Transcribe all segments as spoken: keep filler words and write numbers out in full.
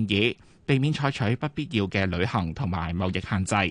議，避免採取不必要嘅旅行同埋貿易限制。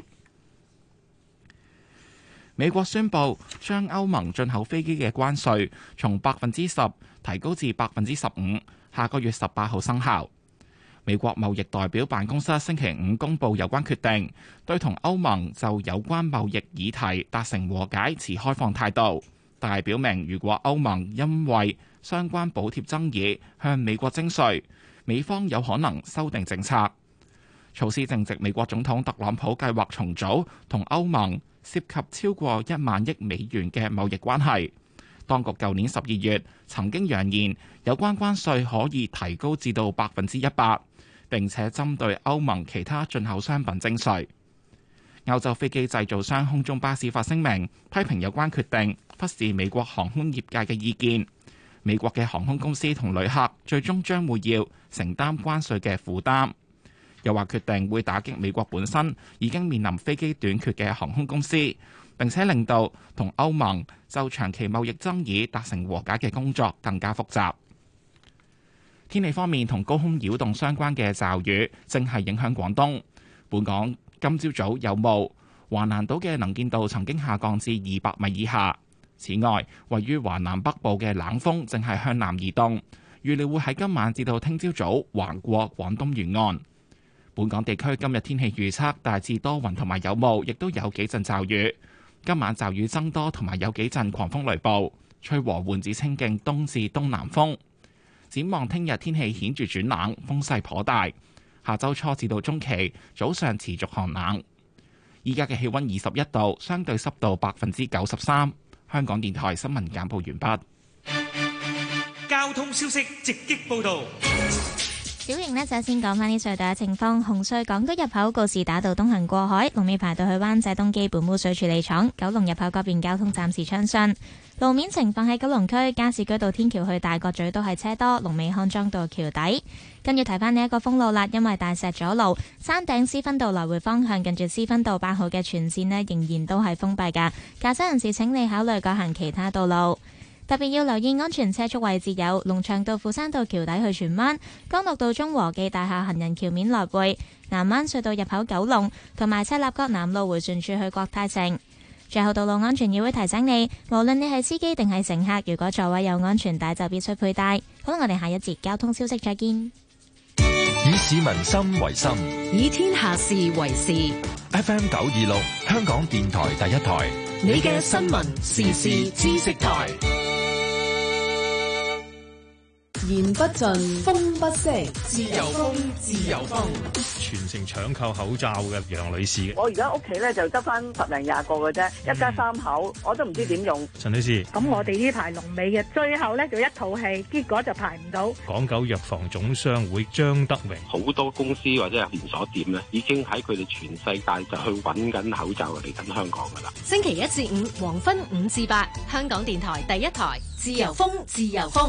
美國宣布將歐盟進口飛機嘅關稅從百分之十提高至百分之十五，下個月十八號生效。美國貿易代表辦公室星期五公佈有關決定，對同歐盟就有關貿易議題達成和解持開放態度，但係表明如果歐盟因為相關補貼爭議向美國徵稅，美方有可能修訂政策。措施正值美國總統特朗普計劃重組同歐盟涉及超過一萬億美元嘅貿易關係。當局舊年十二月曾經揚言有關關稅可以提高至到百分之一百，並且針對歐盟其他進口商品徵稅。歐洲飛機製造商空中巴士發聲明，批評有關決定忽視美國航空業界嘅意見。美國嘅航空公司同旅客最終將會要承擔關稅嘅負擔。又話決定會打擊美國本身已經面臨飛機短缺嘅航空公司，並且令到同歐盟就長期貿易爭議達成和解嘅工作更加複雜。天氣方面，同高空擾動相關嘅驟雨正係影響廣東。本港今朝早有霧，華南島嘅能見度曾經下降至二百米以下。此外，位於華南北部嘅冷鋒正係向南移動，預料會喺今晚至到聽朝早橫過廣東沿岸。本港地區今日天氣預測大致多雲同埋有霧，亦都有幾陣驟雨。今晚驟雨增多同埋有幾陣狂風雷暴，吹和緩至清勁東至東南風。展望聽日天氣顯著轉冷，風勢頗大。下周初至到中期早上持續寒冷。依家嘅氣溫二十一度，相對濕度百分之九十三。香港電台新聞簡報完畢。 交通消息直擊報道。 小瑩呢，就先講返啲隧道嘅情況。紅隧港島入口告士打道東行過海，龍尾排到去灣仔東基本污水處理廠；九龍入口嗰邊交通暫時暢順。路面情況喺九龍區加士居道天橋去大角咀都係車多，龍尾康莊道橋底。跟住提翻呢一個封路啦，因為大石阻路，山頂施勳道來回方向近住施勳道八號嘅全線呢，仍然都係封閉㗎。駕駛人士請你考慮改行其他道路。特別要留意安全車速位置有龍翔道富山道橋底去荃灣、江樂道中和記大廈行人橋面來回、南灣隧道入口九龍同埋赤鱲角南路迴旋處去國泰城。最後，道路安全議會提醒你，無論你係司機定係乘客，如果座位有安全帶就必須佩戴。好啦，我哋下一節交通消息再見。 以市民心為心， 以天下事為事。 F M 九二六，香港電台第一台， 你嘅新聞時事知識台。言不盡，風不息，自由風，自由風。 全城搶購口罩嘅楊女士， 我而家屋企咧就得翻十零廿個嘅啫，一家三口，我都唔知點用。 陳女士， 咁我哋呢排龍尾嘅，最後咧就一套戲，結果就排唔到。 港九藥房總商會張德榮， 好多公司或者係連鎖店咧，已經喺佢哋全世界就去揾緊口罩嚟緊香港噶啦。 星期一至五黃昏五至八，香港電台第一台，自由風，自由風。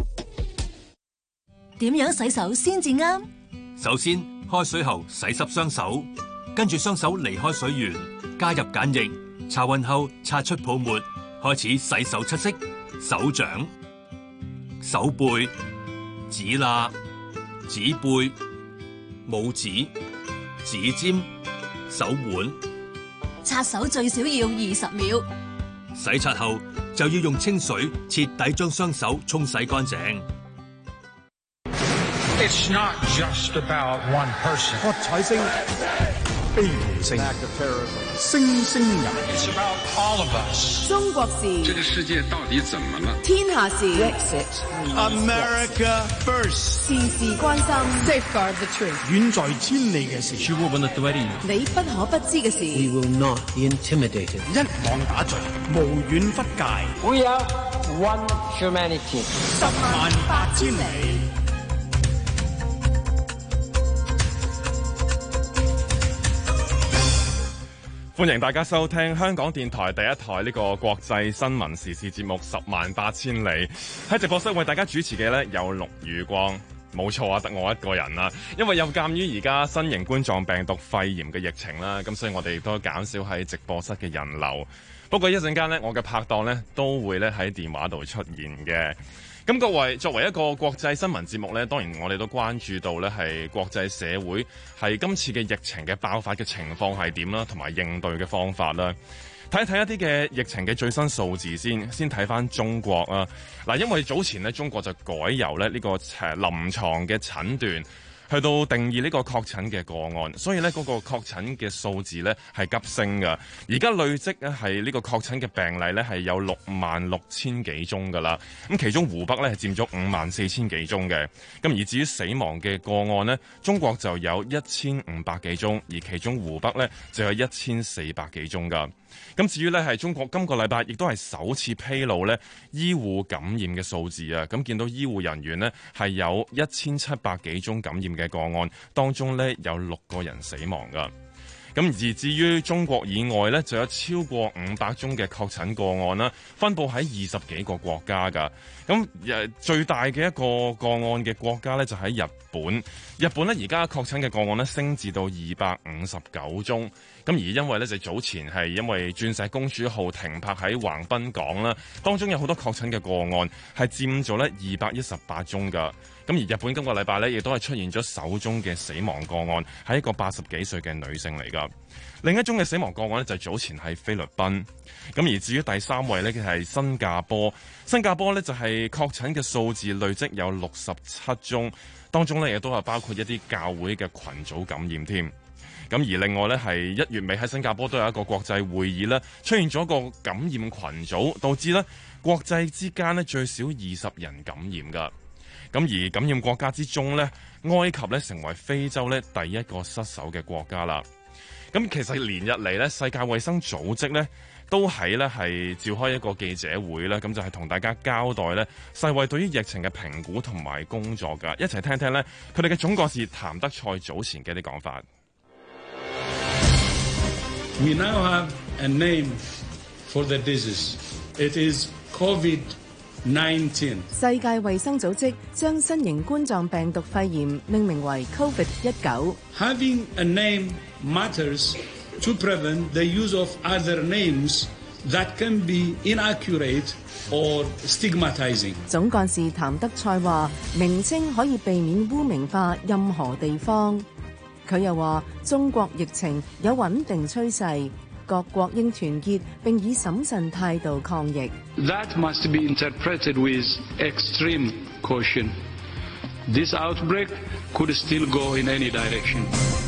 點樣洗手先至啱？ 首先，開水後洗濕雙手，跟住雙手離開水源，加入鹼液，擦勻後擦出泡沫，開始洗手七式：手掌、手背、指罅、指背、拇指、指尖、手腕。 擦手最少要二十秒。 洗刷後就要用清水徹底將雙手沖洗乾淨。 It's not just about one person. 喝彩聲、悲鳴聲、聲聲入。 It's about all of us. 中國事。 這個世界到底怎麼了？ 天下事。 America first. 事事關心。Safeguard the truth. 遠在千里嘅事。 你不可不知嘅事。 We will not be intimidated. 一網打盡，無遠弗屆。 We are one humanity. 十萬八千里。 歡迎大家收聽香港電台第一台呢個國際新聞時事節目《十萬八千里》。喺直播室為大家主持嘅呢有陸宇光，冇錯啊，得我一個人啦。因為有鑑於而家新型冠狀病毒肺炎嘅疫情啦，咁所以我哋亦都減少喺直播室嘅人流。不過一陣間呢，我嘅拍檔呢都會咧喺電話度出現嘅。 咁各位作為一個國際新聞節目呢，當然我哋都關注到呢係國際社會係今次嘅疫情嘅爆發嘅情況係點啦，同埋應對嘅方法啦。睇一睇一啲嘅疫情嘅最新數字先，先睇翻中國啊。嗱，因為早前呢，中國就改由咧呢個誒臨床嘅診斷去到定義呢個確診嘅個案，所以呢嗰個確診嘅數字呢係急升㗎。而家累積呢係呢個確診嘅病例呢係有六萬六千幾宗㗎啦。咁其中湖北呢係佔咗五萬四千幾宗嘅。咁而至於死亡嘅個案呢，中國就有一千五百幾宗，而其中湖北呢就有一千四百幾宗㗎。咁至於呢係中國今個禮拜亦都係首次披露呢醫護感染嘅數字啊！咁見到醫護人員呢係有一千七百幾宗感染嘅個案，當中呢有六個人死亡㗎。咁而至於中國以外呢，就有超過五百宗嘅確診個案啦，分佈喺二十幾個國家㗎。咁誒最大嘅一個個案嘅國家呢，就喺日本。日本呢而家確診嘅個案呢，升至到二百五十九宗。咁而因為呢，就早前係因為鑽石公主號停泊喺橫濱港啦，當中有好多確診嘅個案係佔咗呢二百一十八宗㗎。咁而日本今個禮拜呢，亦都係出現咗首宗嘅死亡個案，係一個八十幾歲嘅女性嚟㗎。另一宗嘅死亡個案呢，就早前喺菲律賓。咁而至於第三位呢，佢係新加坡。新加坡呢，就係確診嘅數字累積有六十七宗，當中呢，亦都係包括一啲教會嘅群組感染添。咁而另外呢，係一月尾喺新加坡都有一個國際會議呢，出現咗個感染群組，導致呢國際之間呢最少二十人感染㗎。咁而感染國家之中呢，埃及呢成為非洲呢第一個失守嘅國家啦。咁其實連日嚟呢，世界衛生組織呢都喺呢係召開一個記者會啦，咁就係同大家交代呢世衛對於疫情嘅評估同埋工作噶，一齊聽聽呢佢哋嘅總幹事譚德塞早前嘅啲講法。 We now have a name for the disease. It is COVID nineteen. 世界衛生組織將新型冠狀病毒肺炎命名為 COVID 十九。 Having a name matters to prevent the use of other names that can be inaccurate or stigmatizing. 總幹事譚德塞話：名稱可以避免污名化任何地方。佢又話：中國疫情有穩定趨勢，各國應團結並以審慎態度抗疫。 That must be interpreted with extreme caution. This outbreak could still go in any direction.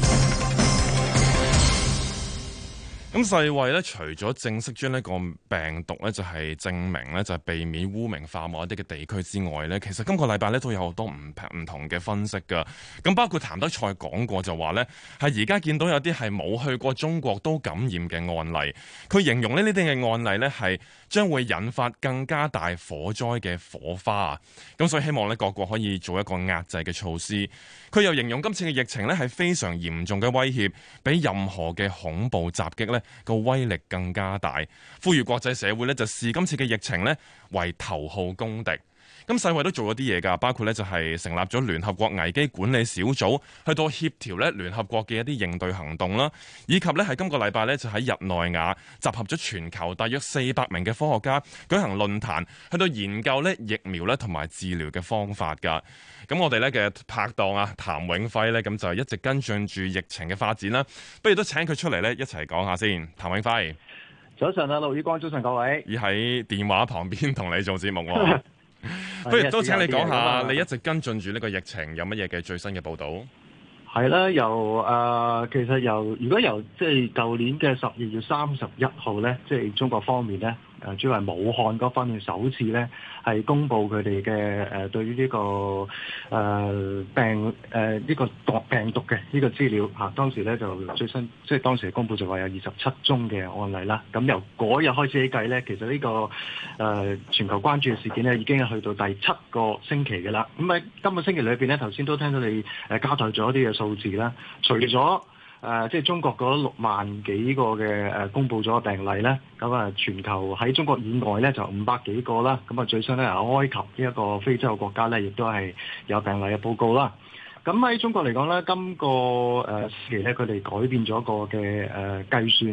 咁世衛咧，除咗正式將呢個病毒咧，就係證明咧，就係避免污名化某一啲嘅地區之外咧，其實今個禮拜咧都有好多唔唔同嘅分析㗎。咁包括譚德塞講過就話咧，係而家見到有啲係冇去過中國都感染嘅案例，佢形容咧呢啲嘅案例咧係將會引發更加大火災嘅火花。咁所以希望咧各國可以做一個壓制嘅措施。佢又形容今次嘅疫情咧係非常嚴重嘅威脅，比任何嘅恐怖襲擊咧個威力更加大，呼籲國際社會咧就視今次嘅疫情咧為頭號公敵。咁世衛都做咗啲嘢㗎，包括咧就係成立咗聯合國危機管理小組，去到協調咧聯合國嘅一啲應對行動啦，以及咧係今個禮拜咧就喺日內瓦集合咗全球大約四百名嘅科學家舉行論壇，去到研究咧疫苗咧同埋治療嘅方法㗎。咁我哋咧嘅拍檔啊譚永輝咧咁就一直跟進住疫情嘅發展啦，不如都請佢出嚟咧一齊講下先。譚永輝， 早晨啊，陸宇光，早晨各位。 而喺電話旁邊同你做節目喎。不如都請你講下，你一直跟進住呢個疫情有乜嘢嘅最新嘅報導？ 係啦，由誒、呃、其實由如果由即係舊年嘅十二月三十一號咧，即係中國方面咧。誒主要係武漢嗰方面首次咧係公布佢哋嘅誒對於呢、這個誒、呃、病誒呢、呃這個毒病毒嘅呢個資料嚇、啊，當時咧就最新即係當時公布就話有二十七宗嘅案例啦。咁由嗰日開始起計咧，其實呢、這個誒、呃、全球關注嘅事件咧已經係去到第七個星期嘅啦。咁喺今個星期裏邊咧，頭先都聽到你誒交代咗一啲嘅數字啦，除咗誒、呃，即係中國嗰六萬幾個嘅誒、呃、公佈咗嘅病例咧，咁啊全球喺中國以外咧就五百幾個啦，咁啊最新咧埃及呢一個非洲嘅國家咧，亦都係有病例嘅報告啦。咁喺中國嚟講咧，今個誒時期咧，佢哋改變咗個嘅誒計算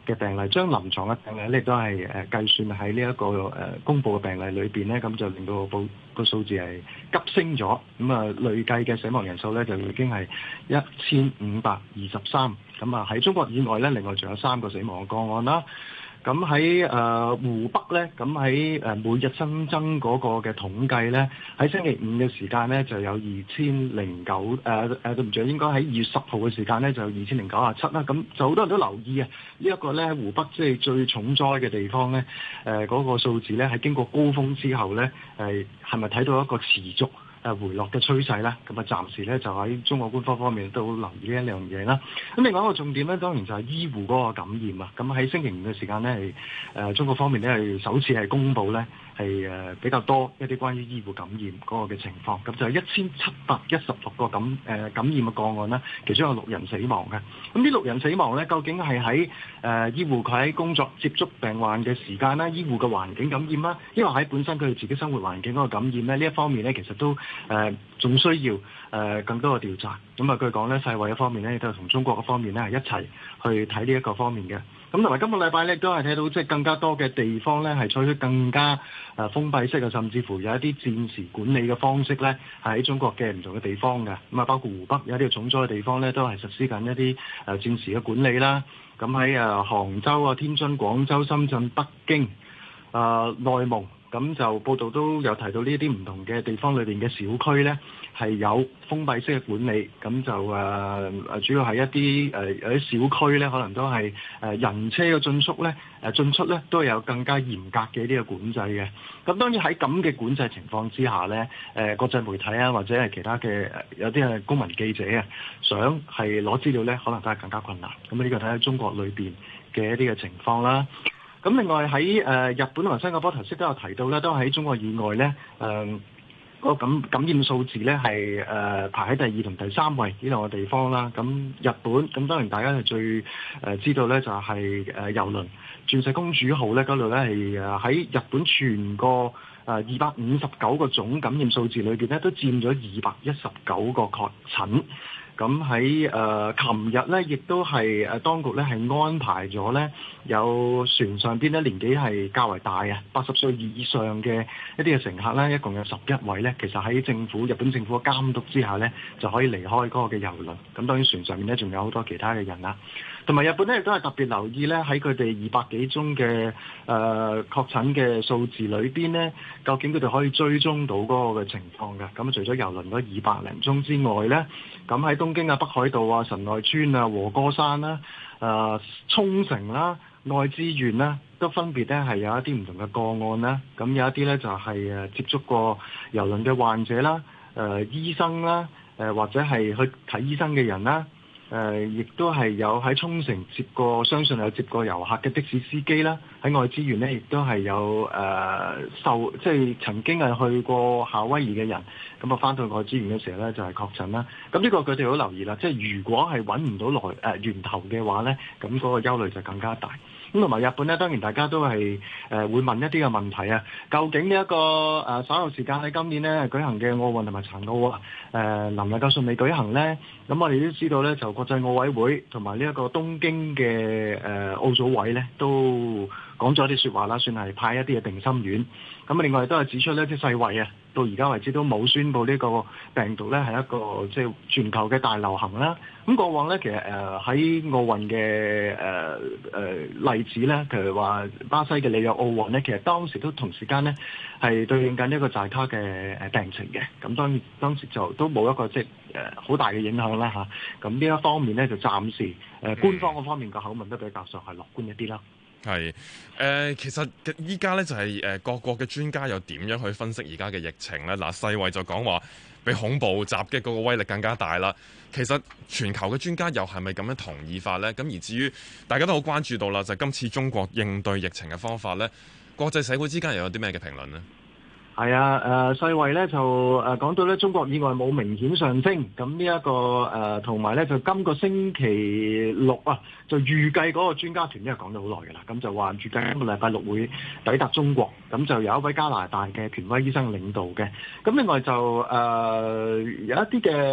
嘅病例，將臨床嘅病例咧都係誒計算喺呢一個誒公佈嘅病例裏邊咧，咁就令到個個數字係急升咗。咁啊累計嘅死亡人數咧就已經係一千五百二十三。咁啊喺中國以外咧，另外仲有三個死亡嘅個案啦。咁喺誒湖北咧，咁喺誒每日新增嗰個嘅統計咧，喺星期五嘅時間咧就有二千零九誒誒對唔住，應該喺二月十號嘅時間咧就有二千零九十七啦。咁就好多人都留意啊，呢一個咧湖北即係最重災嘅地方咧，誒嗰個數字咧係經過高峰之後咧，誒係咪睇到一個持續誒回落嘅趨勢咧？咁啊暫時咧就喺中國官方方面都留意呢一樣嘢啦。咁另外一個重點咧，當然就係醫護嗰個感染啊。咁喺星期五嘅時間咧，係誒中國方面咧係首次係公佈咧係誒比較多一啲關於醫護感染嗰個嘅情況。咁就係一千七百一十六個感誒、呃、感染嘅個案啦，其中有六人死亡嘅。咁呢六人死亡咧，究竟係喺誒醫護佢喺工作接觸病患嘅時間啦，醫護嘅環境感染啦，因為喺本身佢哋自己生活環境嗰個感染咧，呢一方面咧其實都誒仲、呃、需要誒、呃、更多嘅調查。咁啊據講咧，世衛嘅方面咧亦都係同中國嘅方面咧係一齊去睇呢一個方面嘅。咁同埋今個禮拜咧都係睇到即係更加多嘅地方咧係採取更加誒封閉式啊，甚至乎有一啲戰時管理嘅方式咧係喺中國嘅唔同嘅地方嘅。咁啊包括湖北有一啲重災嘅地方咧都係實施緊一啲誒戰時嘅管理啦。咁喺誒杭州啊、天津、廣州、深圳、北京、誒內蒙。咁就報道都有提到呢啲唔同嘅地方裏邊嘅小區呢，係有封閉式嘅管理，咁就誒誒、呃、主要係一啲誒、呃、有啲小區呢，可能都係誒、呃、人車嘅進出呢，誒、呃、進出呢都有更加嚴格嘅呢個管制嘅。咁當然喺咁嘅管制情況之下呢，誒、呃、國際媒體啊或者係其他嘅有啲係公民記者啊，想係攞資料呢，可能都係更加困難。咁呢個睇下中國裏邊嘅一啲嘅情況啦。咁另外喺誒日本同埋新加坡頭先都有提到咧，都喺中國以外咧，誒、呃、嗰、那個感感染數字咧係誒排喺第二同第三位呢兩個地方啦。咁日本咁當然大家係最誒、呃、知道咧就係誒郵輪鑽石公主號咧嗰度咧係誒喺日本全個誒二百五十九個總感染數字裏邊咧都佔咗二百一十九個確診。咁喺誒琴日咧，亦都係誒當局咧係安排咗咧有船上邊咧年紀係較為大啊，八十歲以上嘅一啲嘅乘客咧，一共有十一位咧，其實喺政府日本政府嘅監督之下咧，就可以離開嗰個嘅郵輪。咁當然船上面咧仲有好多其他嘅人啦，同埋日本咧亦都係特別留意咧喺佢哋二百幾宗嘅誒、呃、確診嘅數字裏邊咧，究竟佢哋可以追蹤到嗰個嘅情況嘅。咁除咗郵輪嗰二百零宗之外咧，咁喺東京啊、北海道啊、神奈川啊、和歌山啦、誒、呃、沖繩啦、愛知縣啦，都分別咧係有一啲唔同嘅個案啦。咁有一啲咧就係誒接觸過郵輪嘅患者啦、誒、呃、醫生啦、誒、呃、或者係去睇醫生嘅人啦。誒、呃，亦都係有喺沖繩接過，相信有接過遊客嘅的，的士司機啦。喺愛知縣呢，亦都係有誒、呃、受，即係曾經係去過夏威夷嘅人，咁啊翻到愛知縣嘅時候呢，就係、是、確診啦。咁呢個佢哋好留意啦，即係如果係揾唔到來誒、呃、源頭嘅話呢，咁嗰個憂慮就更加大。咁同埋日本呢，當然大家都係誒、呃、會問一啲嘅問題啊。究竟呢、這、一個誒、呃、稍後時間喺今年呢舉行嘅奧運同埋殘奧啊，誒能唔能夠順利舉行呢？咁我哋都知道呢，就國際奧委會同埋呢一個東京嘅誒、呃、奧組委呢，都講咗啲説話啦，算係派一啲嘅定心丸。咁另外都係指出呢，即係世衛啊，到而家為止都冇宣布呢個病毒呢係一個即係全球嘅大流行啦。咁過往呢，其實誒喺奧運嘅誒誒例子呢，譬如話巴西嘅里約奧運呢，其實當時都同時間呢係對應緊一個寨卡嘅誒病情嘅。咁當然當時就都冇一個即係誒好大嘅影響啦嚇。咁呢一方面呢，就暫時誒、呃、官方嗰方面個口吻都比較上係樂觀一啲啦。 係誒、呃，其實依家咧就係、是、誒、呃、各國嘅專家又點樣去分析而家嘅疫情咧？嗱、呃，世衛就講話比恐怖襲擊嗰個威力更加大啦。其實全球嘅專家又係咪咁樣同意法呢？咁而至於大家都好關注到啦，就係、今次中國應對疫情嘅方法呢，國際社會之間又有啲咩嘅評論呢？ 係啊，誒、呃、世衛咧就誒講到咧中國以外冇明顯上升，咁呢一個誒同埋咧就今個星期六啊，就預計嗰個專家團因為講咗好耐㗎啦，咁就話預計今個禮拜六會抵達中國，咁就有一位加拿大嘅權威醫生領導嘅，咁另外就誒、呃、有一啲嘅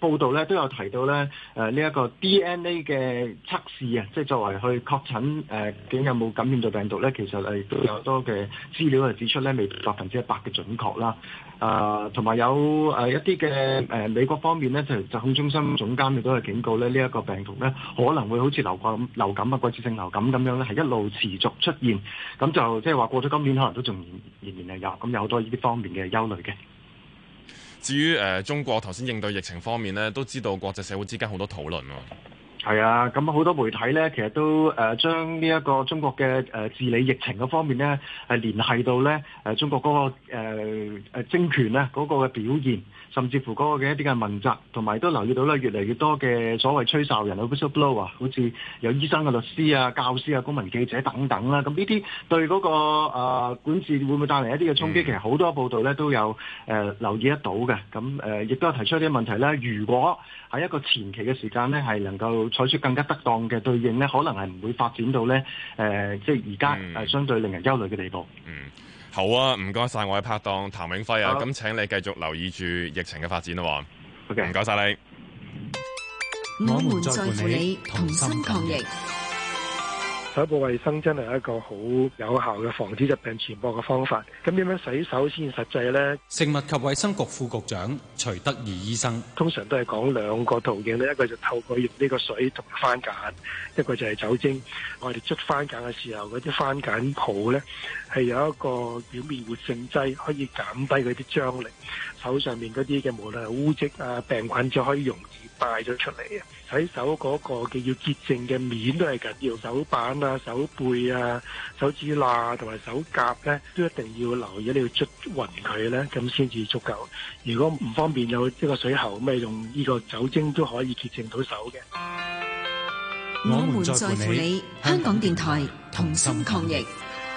報道咧都有提到咧誒呢一個 D N A 嘅測試啊，即係作為去確診誒究竟有冇感染到病毒咧，其實誒都有多嘅資料係指出咧未百分之一百嘅準確啦。啊，同埋有誒一啲嘅誒美國方面咧，就疾控中心總監亦都係警告咧，呢一個病毒咧可能會好似流感、流感啊、季節性流感咁樣咧，係一路持續出現。咁就即係話過咗今年，可能都仲仍然係有，咁有好多呢啲方面嘅憂慮嘅。 至於誒、呃、中國頭先應對疫情方面咧，都知道國際社會之間好多討論喎。 係啊，咁好多媒體咧，其實都誒將呢一個中國嘅誒治理疫情嗰方面咧，係聯繫到咧誒中國嗰、那個誒、呃、政權咧嗰個嘅表現，甚至乎嗰個嘅一啲嘅問責，同埋都留意到咧越嚟越多嘅所謂吹哨人啊 whistleblower 啊，好似有醫生嘅律師啊、教師啊、公民記者等等啦。咁呢啲對嗰、那個、呃、管治會唔會帶嚟一啲嘅衝擊？嗯、其實好多報道咧都有誒、呃、留意得到嘅。咁誒亦都有提出一啲問題咧。如果喺一個前期嘅時間咧，係能夠採取更加得當嘅對應咧，可能係唔會發展到咧誒、呃，即係而家誒相對令人憂慮嘅地步。 嗯，好啊，唔該晒我嘅拍檔譚永輝啊，咁請你繼續留意住疫情嘅發展咯。好嘅，唔該晒你。 我們在乎你，同心抗疫。 手部衛生真係一個好有效嘅防止疾病傳播嘅方法。咁點樣洗手先實際呢？ 食物及衛生局副局長徐德義醫生通常都係講兩個途徑咧，一個就透過用呢個水同埋番梘，一個就係酒精。我哋捽番梘嘅時候，嗰啲番梘泡呢係有一個表面活性劑，可以減低嗰啲張力。手上面嗰啲嘅無論係污漬啊、病菌就可以容易帶咗出嚟啊！洗手嗰個嘅要潔淨嘅面都係緊要，手板啊、手背啊、手指罅同埋手甲咧，都一定要留意，你要捽勻佢咧，咁先至足夠。如果唔方便有一個水喉，咁咪用呢個酒精都可以潔淨到手嘅。 我們在乎你，香港電台同心抗疫。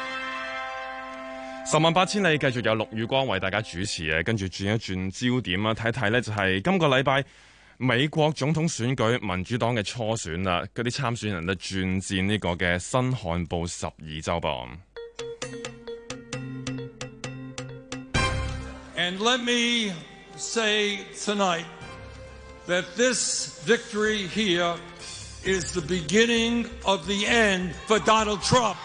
十萬八千里繼續有陸宇光為大家主持嘅，跟住轉一轉焦點啊，睇睇呢就係今個禮拜美國總統選舉民主黨嘅初選啦，嗰啲參選人咧轉戰呢個嘅新罕布什爾州噃。 And let me say tonight that this victory here is the beginning of the end for Donald Trump.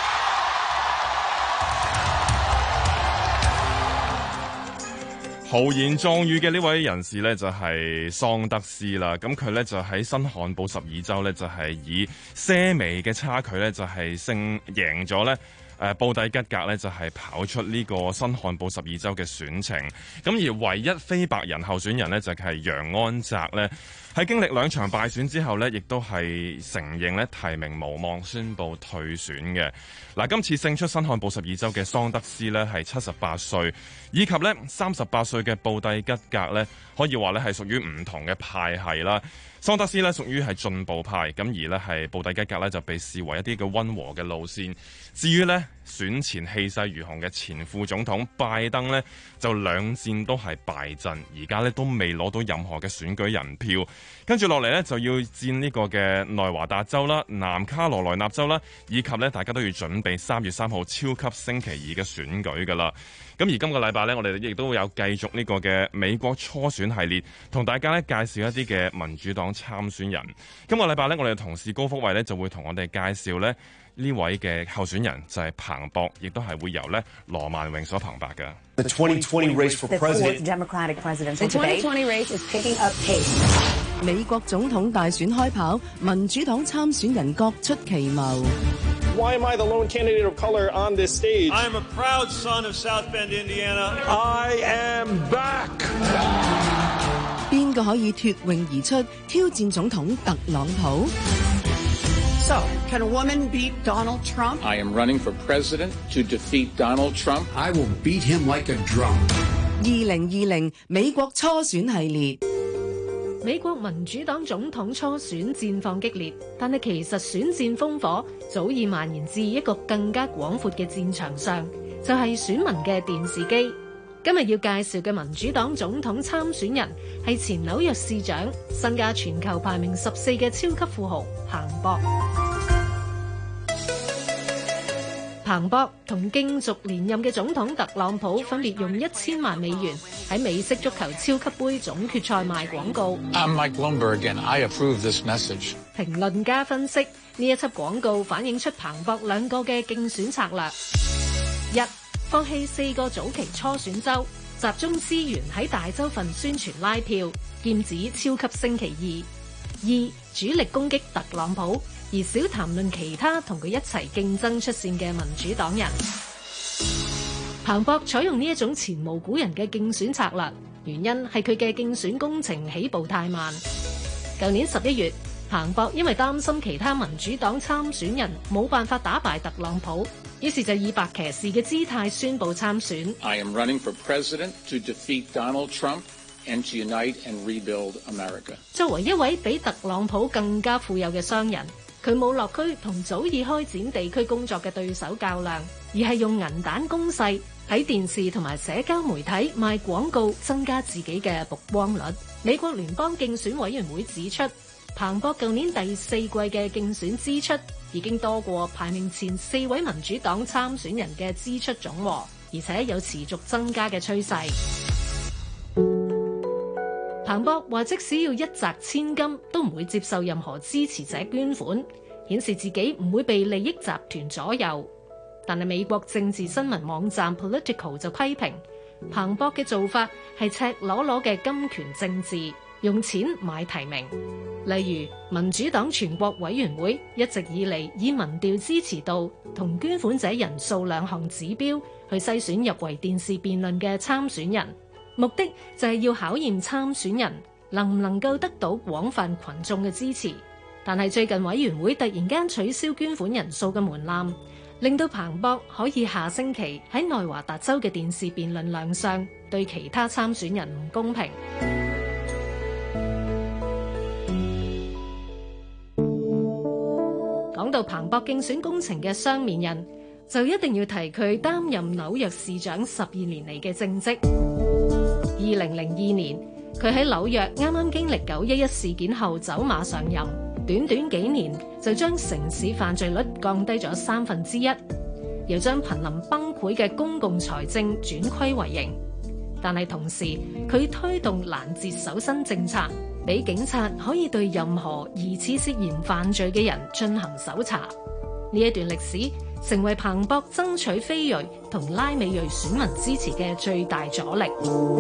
豪言壯語嘅呢位人士呢，就係桑德斯啦，咁佢呢，就喺新罕布什爾州呢，就係以些微嘅差距呢，就係勝贏咗呢誒布蒂吉格呢，就係跑出呢個新罕布什爾州嘅選情，咁而唯一非白人候選人呢，就係楊安澤呢，喺經歷兩場敗選之後呢，亦都係承認呢提名無望，宣布退選嘅。嗱，今次勝出新罕布什爾州嘅桑德斯呢，係七十八歲，以及呢三十八歲嘅布蒂吉格呢，可以話呢係屬於唔同嘅派系啦。桑德斯呢屬於係進步派，咁而呢係布蒂吉格呢就被視為一啲嘅溫和嘅路線。至於呢選前氣勢如虹嘅前副總統拜登呢，就兩戰都係敗陣，而家呢都未攞到任何嘅選舉人票。跟住落嚟呢，就要戰呢個嘅內華達州啦、南卡羅來納州啦，以及呢大家都要準備三月三號超級星期二嘅選舉㗎啦。咁而今個禮拜呢，我哋亦都有繼續呢個嘅美國初選系列，同大家呢介紹一啲嘅民主黨參選人。今個禮拜呢，我哋嘅同事高福慧呢就會同我哋介紹呢呢位嘅候選人，就係彭博，亦都係會由呢羅曼穎所彭白嘅。 The twenty twenty race for president. The Democratic presidential debate. The twenty twenty race is picking up pace. 美國總統大選開跑，民主黨參選人各出奇謀。 Why am I the lone candidate of color on this stage? I'm a proud son of South Bend, Indiana. I am back. 邊個可以脫穎而出挑戰總統特朗普？ So, can a woman beat Donald Trump? I am running for president to defeat Donald Trump. I will beat him like a drum. 二零二零美國初選系列。 美國民主黨總統初選戰況激烈，但係其實選戰烽火早已蔓延至一個更加廣闊嘅戰場上，就係選民嘅電視機。今日要介紹嘅民主黨總統參選人係前紐約市長、身價全球排名十四嘅超級富豪彭博。彭博同競逐連任嘅總統特朗普分別用一千萬美元喺美式足球超級杯總決賽賣廣告。 I'm Mike Bloomberg and I approve this message. 評論家分析，呢一輯廣告反映出彭博兩個嘅競選策略：一、放棄四個早期初選州，集中資源喺大州份宣傳拉票，劍指超級星期二；二、主力攻擊特朗普，而少談論其他同佢一齊競爭出線嘅民主黨人。彭博採用呢一種前無古人嘅競選策略，原因係佢嘅競選工程起步太慢。舊年十一月，彭博因為擔心其他民主黨參選人冇辦法打敗特朗普，於是就以白騎士嘅姿態宣布參選。 I am running for president to defeat Donald Trump and to unite and rebuild America. 作為一位比特朗普更加富有嘅商人，佢冇落區同早已開展地區工作嘅對手較量，而係用銀彈攻勢喺電視同埋社交媒體賣廣告，增加自己嘅曝光率。美國聯邦競選委員會指出，彭博舊年第四季嘅競選支出已經多過排名前四位民主黨參選人嘅支出總和，而且有持續增加嘅趨勢。彭博話，即使要一擲千金，都唔會接受任何支持者捐款，顯示自己唔會被利益集團左右。但係美國政治新聞網站 Politico 就批評彭博嘅做法係赤裸裸嘅金權政治，用錢買提名。例如民主黨全國委員會一直以嚟以民調支持度同捐款者人數兩項指標去篩選入圍電視辯論嘅參選人，目的就係要考驗參選人能唔能夠得到廣泛群眾嘅支持。但係最近委員會突然間取消捐款人數嘅門檻，令到彭博可以下星期喺內華達州嘅電視辯論亮相，對其他參選人唔公平。講到彭博競選工程嘅雙面人，就一定要提佢擔任紐約市長十二年嚟嘅政績。二零零二年，佢喺紐約啱啱經歷九一一事件後走馬上任，短短幾年就將城市犯罪率降低咗三分之一，又將瀕臨崩潰嘅公共財政轉虧為盈。但係同時，佢推動攔截搜身政策，俾警察可以對任何疑似涉嫌犯罪嘅人進行搜查。呢一段歷史成為彭博爭取非裔同拉美裔選民支持嘅最大阻力。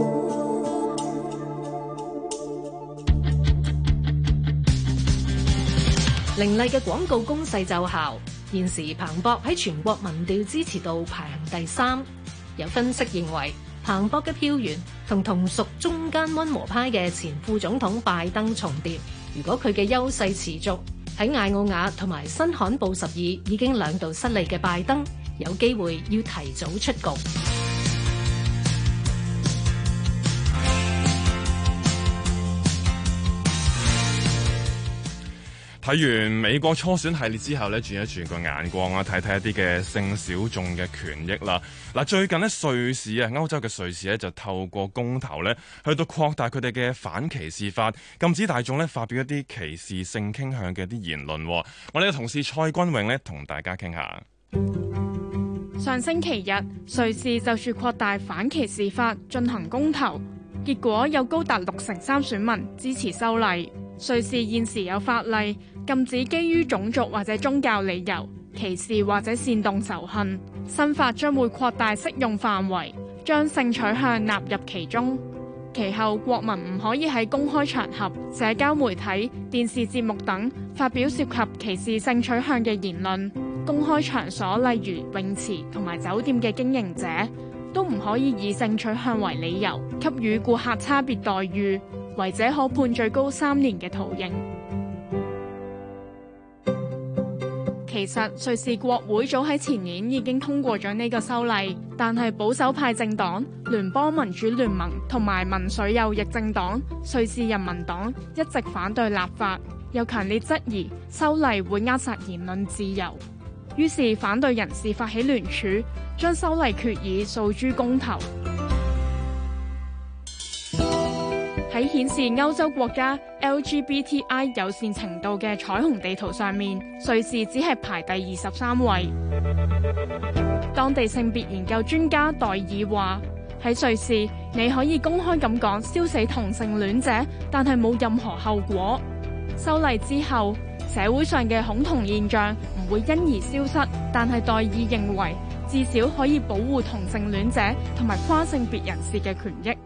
凌厲嘅廣告攻勢奏效，現時彭博喺全國民調支持度排行第三。有分析認為，彭博嘅票源同同屬中間溫和派嘅前副總統拜登重疊。如果佢嘅優勢持續，喺艾奧瓦同埋新罕布什爾已經兩度失利嘅拜登，有機會要提早出局。 睇完美國初選系列之後咧，轉一轉個眼光啊，睇睇一啲嘅性小眾嘅權益啦。嗱，最近咧瑞士啊，歐洲嘅瑞士咧就透過公投咧，去到擴大佢哋嘅反歧視法，禁止大眾咧發表一啲歧視性傾向嘅一啲言論。我哋嘅同事蔡君穎咧同大家傾下。 上星期日，瑞士就住擴大反歧視法進行公投，結果有高達六成三選民支持修例。瑞士現時有法例禁止基於種族或者宗教理由歧視或者煽動仇恨。新法將會擴大適用範圍，將性取向納入其中。其後，國民唔可以喺公開場合、社交媒體、電視節目等發表涉及歧視性取向嘅言論。公開場所，例如泳池同埋酒店嘅經營者，都唔可以以性取向為理由給予顧客差別待遇，違者可判最高三年嘅徒刑。其實瑞士國會早喺前年已經通過咗呢個修例，但係保守派政黨聯邦民主聯盟同埋民粹右翼政黨瑞士人民黨一直反對立法，又強烈質疑修例會扼殺言論自由。於是反對人士發起聯署，將修例決議訴諸公投。喺顯示歐洲國家 L G B T I 友善程度嘅彩虹地圖上面，瑞士只係排第二十三位。當地性別研究專家代爾話：喺喺瑞士，你可以公開咁講燒死同性戀者，但係冇任何後果。修例之後，社會上嘅恐同現象唔會因而消失，但係代議認為至少可以保護同性戀者同埋跨性別人士嘅權益。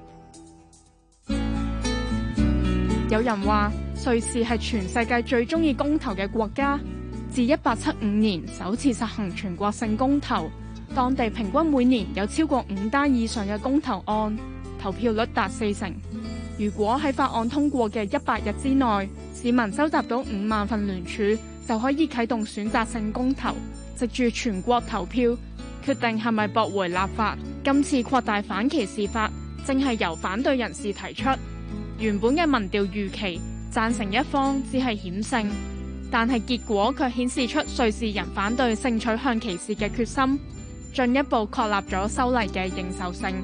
有人話瑞士係全世界最鍾意公投嘅國家，自一八七五年首次實行全國性公投，當地平均每年有超過五單以上嘅公投案，投票率達四成。如果喺法案通過嘅一百日之內，市民收集到五萬份聯署，就可以啟動選擇性公投，藉住全國投票決定係咪駁回立法。今次擴大反歧視法正係由反對人士提出。原本嘅民調預期贊成一方只係險勝，但係結果卻顯示出瑞士人反對性取向歧視嘅決心，進一步確立咗修例嘅認受性。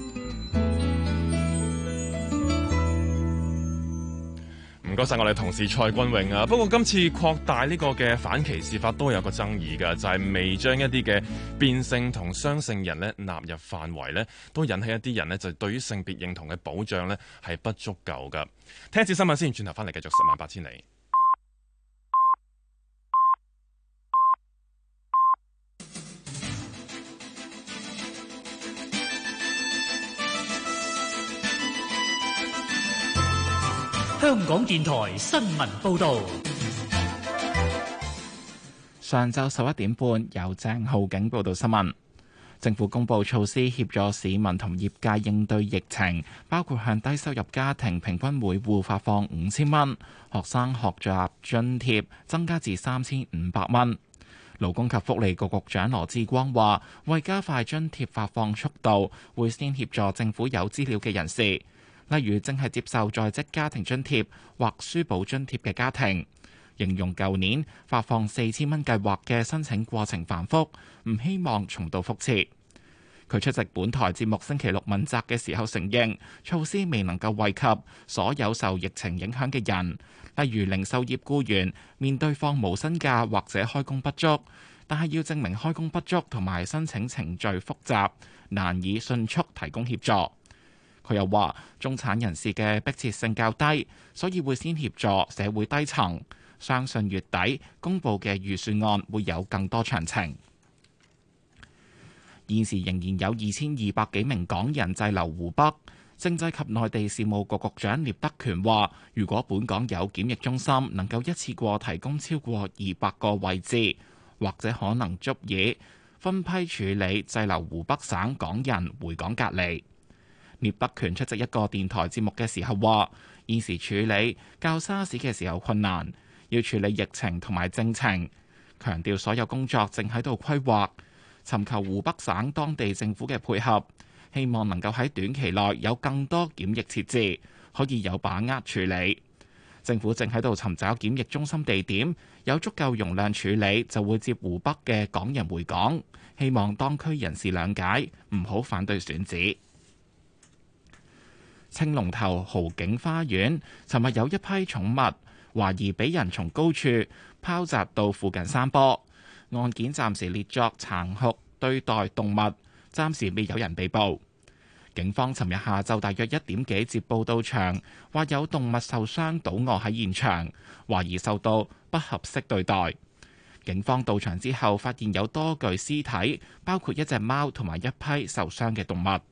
唔該晒我哋同事蔡君穎啊。不過今次擴大呢個嘅反歧視法都有個爭議㗎，就係、是、未將一啲嘅變性同雙性人咧納入範圍咧，都引起一啲人咧就對於性別認同嘅保障咧係不足夠㗎。聽一次新聞先，轉頭翻嚟繼續十萬八千里。 香港電台新聞報導， 上晝十一點半由鄭浩景報道新聞。政府公布措施協助市民同業界應對疫情，包括向低收入家庭平均每戶發放五千蚊，學生學習津貼增加至三千五百蚊。勞工及福利局局長羅致光話，為加快津貼發放速度，會先協助政府有資料嘅人士，例如正係接受在職家庭津貼或書簿津貼嘅家庭。形容舊年發放四千蚊計劃嘅申請過程繁複，唔希望重蹈覆轍。佢出席本台節目星期六問責嘅時候承認，措施未能夠惠及所有受疫情影響嘅人，例如零售業僱員面對放無薪假或者開工不足，但係要證明開工不足同埋申請程序複雜，難以迅速提供協助。佢又話，中產人士嘅迫切性較低，所以會先協助社會低層。相信月底公佈嘅預算案會有更多詳情。現時仍然有二千二百幾名港人滯留湖北。政制及內地事務局局長聶德權話，如果本港有檢疫中心能夠一次過提供超過二百個位置，或者可能足以分批處理滯留湖北省港人回港隔離。聶德權出席一個電台節目嘅時候話，現時處理較沙士嘅時候困難，要處理疫情同埋政情，強調所有工作正喺度規劃，尋求湖北省當地政府嘅配合，希望能夠喺短期內有更多檢疫設置，可以有把握處理。政府正喺度尋找檢疫中心地點，有足夠容量處理就會接湖北嘅港人回港，希望當區人士諒解，唔好反對選址。青龍頭豪景花園尋日有一批寵物懷疑俾人從高處拋擲到附近山坡，案件暫時列作殘酷對待動物，暫時未有人被捕。警方尋日下晝大約一點幾接報到場，話有動物受傷倒卧喺現場，懷疑受到不合適對待。警方到場之後發現有多具屍體，包括一隻貓同埋一批受傷嘅動物。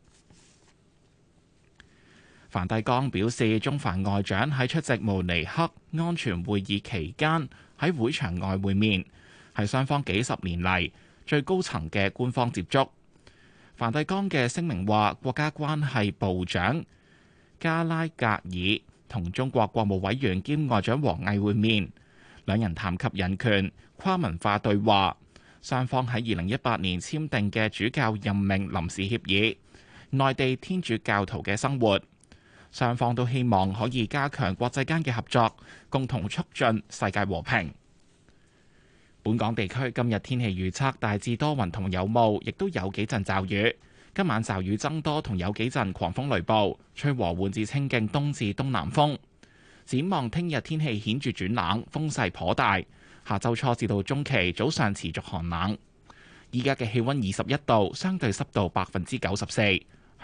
梵蒂岡表示，中梵外長喺出席慕尼黑安全會議期間喺會場外會面，係雙方幾十年嚟最高層嘅官方接觸。梵蒂岡嘅聲明話，國家關係部長加拉格爾同中國國務委員兼外長王毅會面，兩人談及人權、跨文化對話。雙方喺二零一八年簽訂嘅主教任命臨時協議，內地天主教徒嘅生活。雙方都希望可以加強國際間嘅合作，共同促進世界和平。本港地區今日天氣預測大致多雲同有霧，亦都有幾陣驟雨。今晚驟雨增多同有幾陣狂風雷暴，吹和緩至清勁東至東南風。展望聽日天氣顯著轉冷，風勢頗大。下週初至到中期早上持續寒冷。依家嘅氣溫二十一度，相對濕度百分之九十四。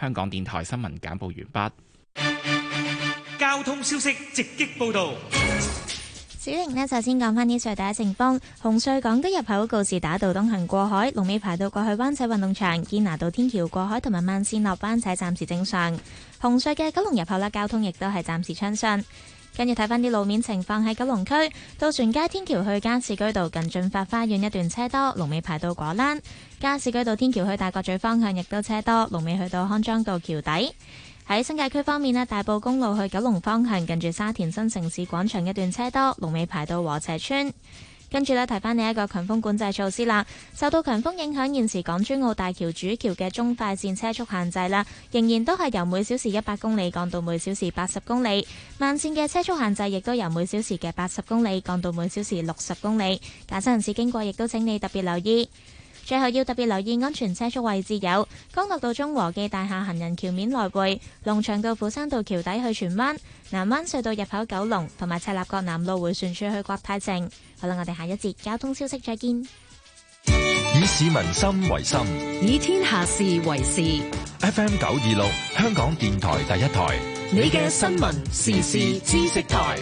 香港電台新聞簡報完畢。交通消息直擊報導。 小玲呢，首先講返呢隧道嘅情況。紅隧港島入口告士打道東行過海，龍尾排到過去灣仔運動場；堅拿道天橋過海同埋慢線落灣仔暫時正常。紅隧嘅九龍入口啦，交通亦都係暫時暢順。跟住睇返啲路面情況，喺九龍區渡船街天橋去加士居道近駿發花園一段車多，龍尾排到果欄；加士居道天橋去大角咀方向亦都車多，龍尾去到康莊道橋底。喺新界區方面咧，大埔公路去九龍方向近住沙田新城市廣場一段車多，龍尾排到禾輋村。跟住咧，提翻你一個強風管制措施啦。受到強風影響，現時港珠澳大橋主橋嘅中快線車速限制啦，仍然都係由每小時一百公里降到每小時八十公里。慢線嘅車速限制亦都由每小時嘅八十公里降到每小時六十公里。駕駛人士經過亦都請你特別留意。最後要特別留意安全車速位置有江樂道中和記大廈行人橋面來回、龍翔道斧山道橋底去荃灣、南灣隧道入口九龍同埋赤鱲角南路迴旋處去國泰城。好啦，我哋下一節交通消息再見。 以市民心為心， 以天下事為事。 F M 九二六香港電台第一台， 你嘅新聞時事知識台，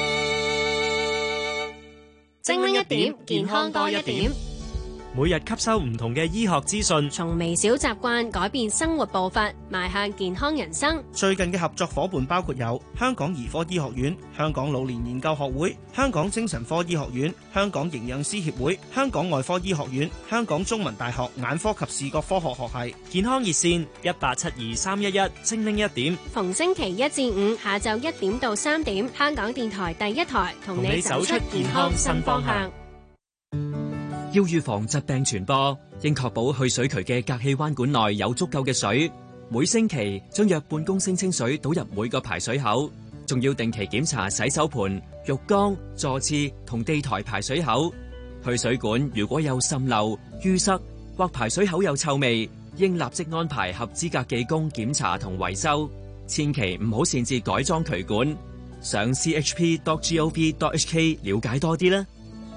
精靈一點，健康多一點。 每日吸收唔同嘅醫學資訊， 從微小習慣改變生活步伐，邁向健康人生。 最近嘅合作夥伴包括有香港兒科醫學院、香港老年研究學會、香港精神科醫學院、香港營養師協會、香港外科醫學院、香港中文大學眼科及視覺科學學系。健康熱線一八七二三一一，精靈一點。 逢星期一至五下晝一點到三點，香港電台第一台同你走出健康新方向。 要預防疾病傳播，應確保去水渠嘅隔氣彎管內有足夠嘅水。每星期將約半公升清水倒入每個排水口，仲要定期檢查洗手盆、浴缸、坐廁同地台排水口。去水管如果有滲漏、淤塞或排水口有臭味，應立即安排合資格技工檢查同維修。千祈唔好擅自改裝渠管。上 c h p dot gov dot h k 了解多啲啦。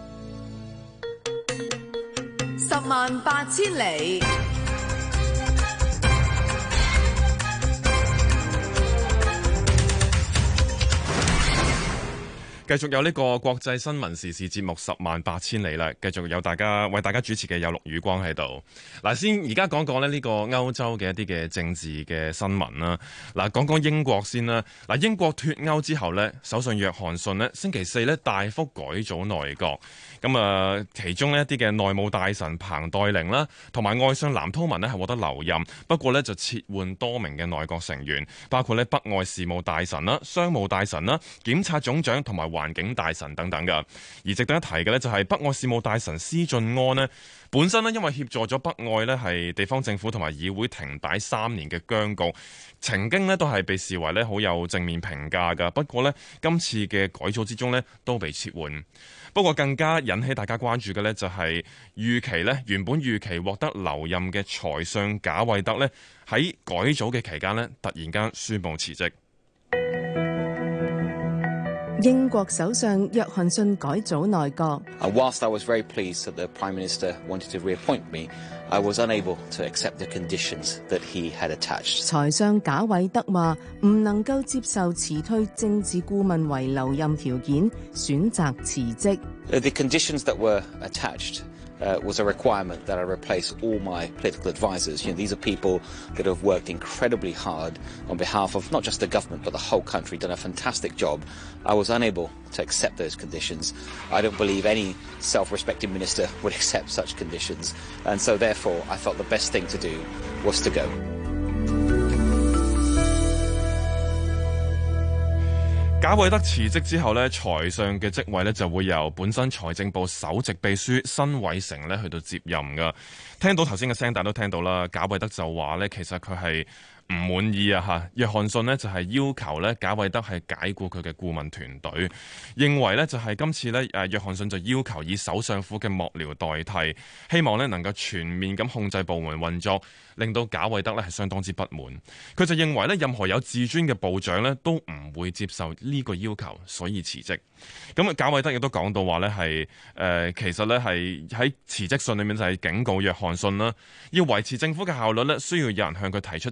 十萬八千里。 繼續有呢個國際新聞時事節目十萬八千里啦，繼續有大家為大家主持嘅有陸宇光喺度。嗱，先而家講講咧呢個歐洲嘅一啲嘅政治嘅新聞啦。嗱，講講英國先啦。嗱，英國脫歐之後呢，首相約翰遜呢星期四呢大幅改組內閣。咁啊，其中呢一啲嘅內務大臣彭黛玲啦，同埋外相藍韜文呢係獲得留任，不過呢就撤換多名嘅內閣成員，包括呢北愛事務大臣啦、商務大臣啦、檢察總長同埋環境大臣等等㗎。而值得一提嘅呢，就係北愛事務大臣施俊安呢，本身呢因為協助咗北愛呢係地方政府同埋議會停擺三年嘅僵局，曾經呢都係被視為呢好有正面評價㗎。不過呢，今次嘅改組之中呢都被撤換。不過更加引起大家關注嘅呢，就係預期呢原本預期獲得留任嘅財相賈偉德呢，喺改組嘅期間呢突然間宣布辭職。 英國首相約翰遜改組內閣。 Whilst I was very pleased that the Prime Minister wanted to reappoint me, I was unable to accept the conditions that he had attached. 財相賈偉德話唔能夠接受辭退政治顧問為留任條件，選擇辭職。 The conditions that were attached Uh, was a requirement that I replace all my political advisors. You know, these are people that have worked incredibly hard on behalf of not just the government but the whole country, done a fantastic job. I was unable to accept those conditions. I don't believe any self-respecting minister would accept such conditions. And so therefore, I felt the best thing to do was to go. 賈偉德辭職之後呢，財相嘅職位呢就會由本身財政部首席秘書辛偉誠呢去到接任噶。聽到頭先嘅聲帶都聽到啦，賈偉德就話呢，其實佢係唔滿意啊嚇。約翰遜呢就係要求呢賈偉德係解僱佢嘅顧問團隊，認為呢就係今次呢誒約翰遜就要求以首相府嘅幕僚代替，希望呢能夠全面咁控制部門運作，令到賈偉德呢係相當之不滿。佢就認為呢任何有自尊嘅部長呢都唔會接受呢個要求，所以辭職。咁啊，賈偉德亦都講到話呢係誒，其實呢係喺辭職信裏面就係警告約翰遜啦，要維持政府嘅效率呢，需要有人向佢提出清晰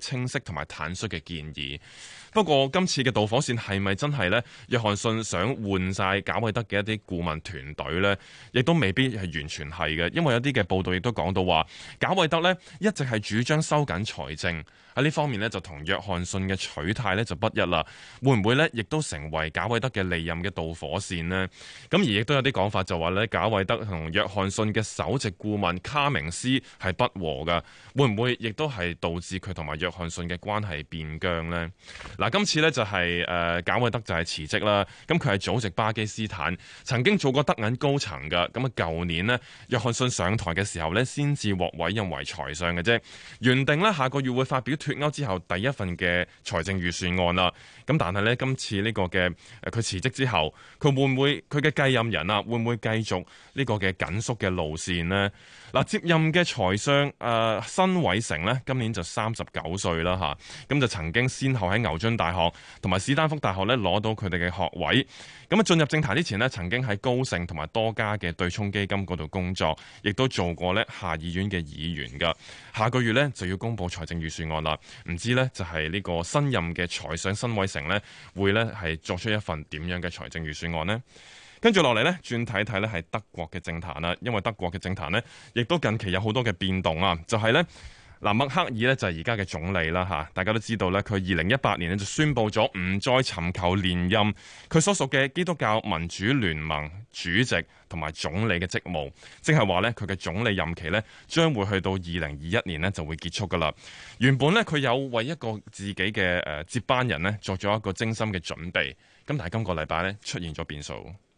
同埋坦率嘅建議。不過今次嘅導火線係咪真係呢？約翰遜想換晒賈偉德嘅一啲顧問團隊呢，亦都未必係完全係嘅，因為有啲嘅報道亦都講到話，賈偉德呢一直係主張收緊財政，喺呢方面呢，就同約翰遜嘅取態呢就不一啦。會唔會呢？亦都成為賈偉德嘅利任嘅導火線呢？咁而亦都有啲講法就話呢，賈偉德同約翰遜嘅首席顧問卡明斯係不和㗎，會唔會亦都係導致佢同埋約翰遜嘅關係變僵呢？嗱，今次呢就係誒賈偉德就係辭職啦。咁佢係祖籍巴基斯坦，曾經做過德銀高層㗎。咁啊，舊年呢，約翰遜上台嘅時候呢，先至獲委任為財相嘅啫。原定呢，下個月會發表脫歐之後第一份嘅財政預算案啦。咁但係呢，今次呢個嘅誒佢辭職之後，佢會唔會佢嘅繼任人啊，會唔會繼續呢個嘅緊縮嘅路線呢？嗱，接任嘅財相誒辛偉誠呢，今年就三十九歲啦嚇，咁就曾經先後喺牛津大學同埋史丹福大學呢攞到佢哋嘅學位。咁啊，進入政壇之前呢，曾經喺高盛同埋多家嘅對沖基金嗰度工作，亦都做過呢下議院嘅議員噶。下個月呢，就要公布財政預算案啦，唔知呢，就係呢個新任嘅財相辛偉誠呢，會呢係作出一份點樣嘅財政預算案呢？跟住落嚟呢，轉睇睇呢係德國嘅政壇啦，因為德國嘅政壇呢，亦都近期有好多嘅變動啊，就係呢。嗱，默克爾呢就係而家嘅總理啦嚇，大家都知道呢，佢二零一八年呢就宣布咗唔再尋求連任佢所屬嘅基督教民主聯盟主席同埋總理嘅職務，即係話呢，佢嘅總理任期呢將會去到二零二一年呢就會結束噶啦。原本呢，佢有為一個自己嘅誒接班人呢作咗一個精心嘅準備，咁但係今個禮拜呢出現咗變數。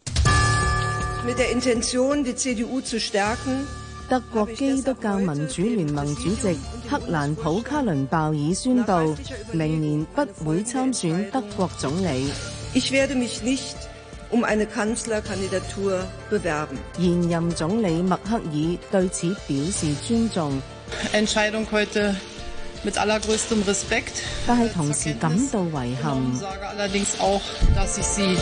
Mit der Intention, die C D U zu stärken, 德國基督教民主聯盟主席克蘭普卡倫鮑爾宣布，明年不會參選德國總理。 Ich werde mich nicht um eine Kanzlerkandidatur bewerben. 現任總理默克爾對此表示尊重。 Entscheidung heute mit allergrößtem Respekt. 但係同時感到遺憾。 Sage allerdings auch, dass ich sie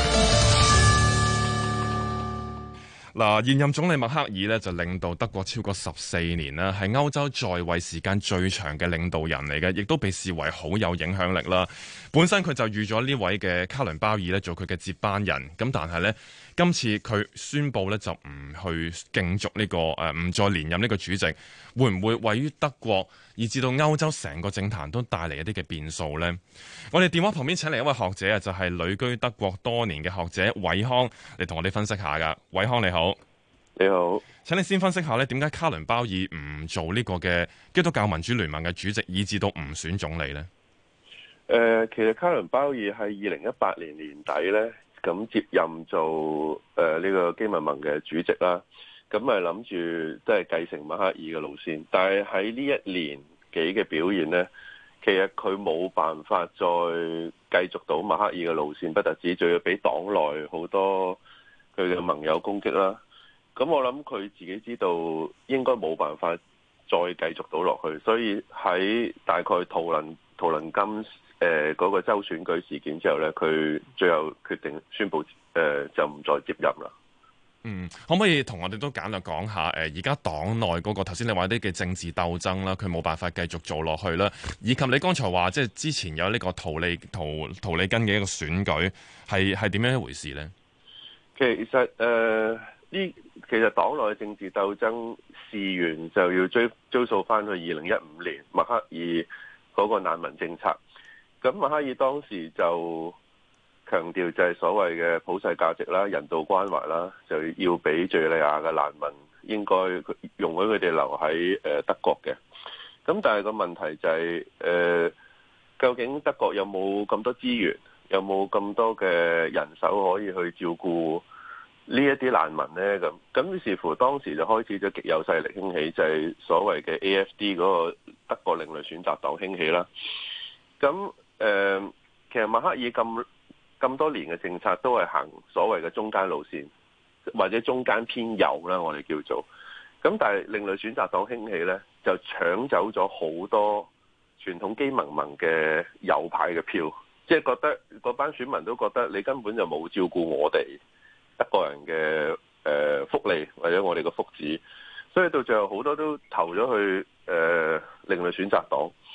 嗱，現任總理默克爾呢就領導德國超過十四年啦，係歐洲在位時間最長嘅領導人嚟嘅，亦都被視為好有影響力啦。本身佢就預咗呢位嘅卡倫鮑爾呢做佢嘅接班人，咁但係呢，今次佢宣布呢就唔去競逐呢個誒唔再連任呢個主席，會唔會位於德國以至到歐洲成個政壇都帶嚟一啲嘅變數呢？我哋電話旁邊請嚟一位學者啊，就係旅居德國多年嘅學者瑋康嚟同我哋分析下噶。瑋康你好。 你好， 請你先分析下咧，點解卡倫鮑爾唔做呢個嘅基督教民主聯盟嘅主席，以至到唔選總理呢？ 誒、呃，其實卡倫鮑爾喺二零一八年年底咧，咁接任做誒呢、呃這個基民盟嘅主席啦，咁咪諗住即係繼承默克爾嘅路線，但係喺呢一年幾嘅表現呢，其實佢冇辦法再繼續到默克爾嘅路線，不特止，仲要俾黨內好多佢嘅盟友攻擊啦。咁我諗佢自己知道應該冇辦法再繼續到落去，所以喺大概圖林圖林根誒嗰個州選舉事件之後呢，佢最後決定宣布誒、呃、就唔再接任啦。 嗯，可唔可以同我哋都簡略講下誒而家黨內嗰個頭先你話啲嘅政治鬥爭啦，佢冇辦法繼續做落去啦，以及你剛才話即係之前有呢個圖利圖圖利根嘅一個選舉係係點樣一回事呢？ 其實誒。呃呢其實黨內政治鬥爭事源就要追追溯翻去二零一五年默克爾嗰個難民政策。咁默克爾當時就強調就係所謂嘅普世價值啦、人道關懷啦，就要俾敘利亞嘅難民應該容許佢哋留喺誒德國嘅。咁但係個問題就係、是、誒、呃，究竟德國有冇咁多資源，有冇咁多嘅人手可以去照顧呢一啲難民呢？咁咁於是乎當時就開始咗極右勢力興起，就係、是、所謂嘅 A F D 嗰個德國另類選擇黨興起啦。咁誒、呃，其實默克爾咁咁多年嘅政策都係行所謂嘅中間路線，或者中間偏右啦，我哋叫做。咁但係另類選擇黨興起呢，就搶走咗好多傳統基民盟嘅右派嘅票，即、就、係、是、覺得嗰班選民都覺得你根本就冇照顧我哋德國人嘅誒福利或者我哋嘅福祉，所以到最後好多都投咗去誒另類選擇黨。咁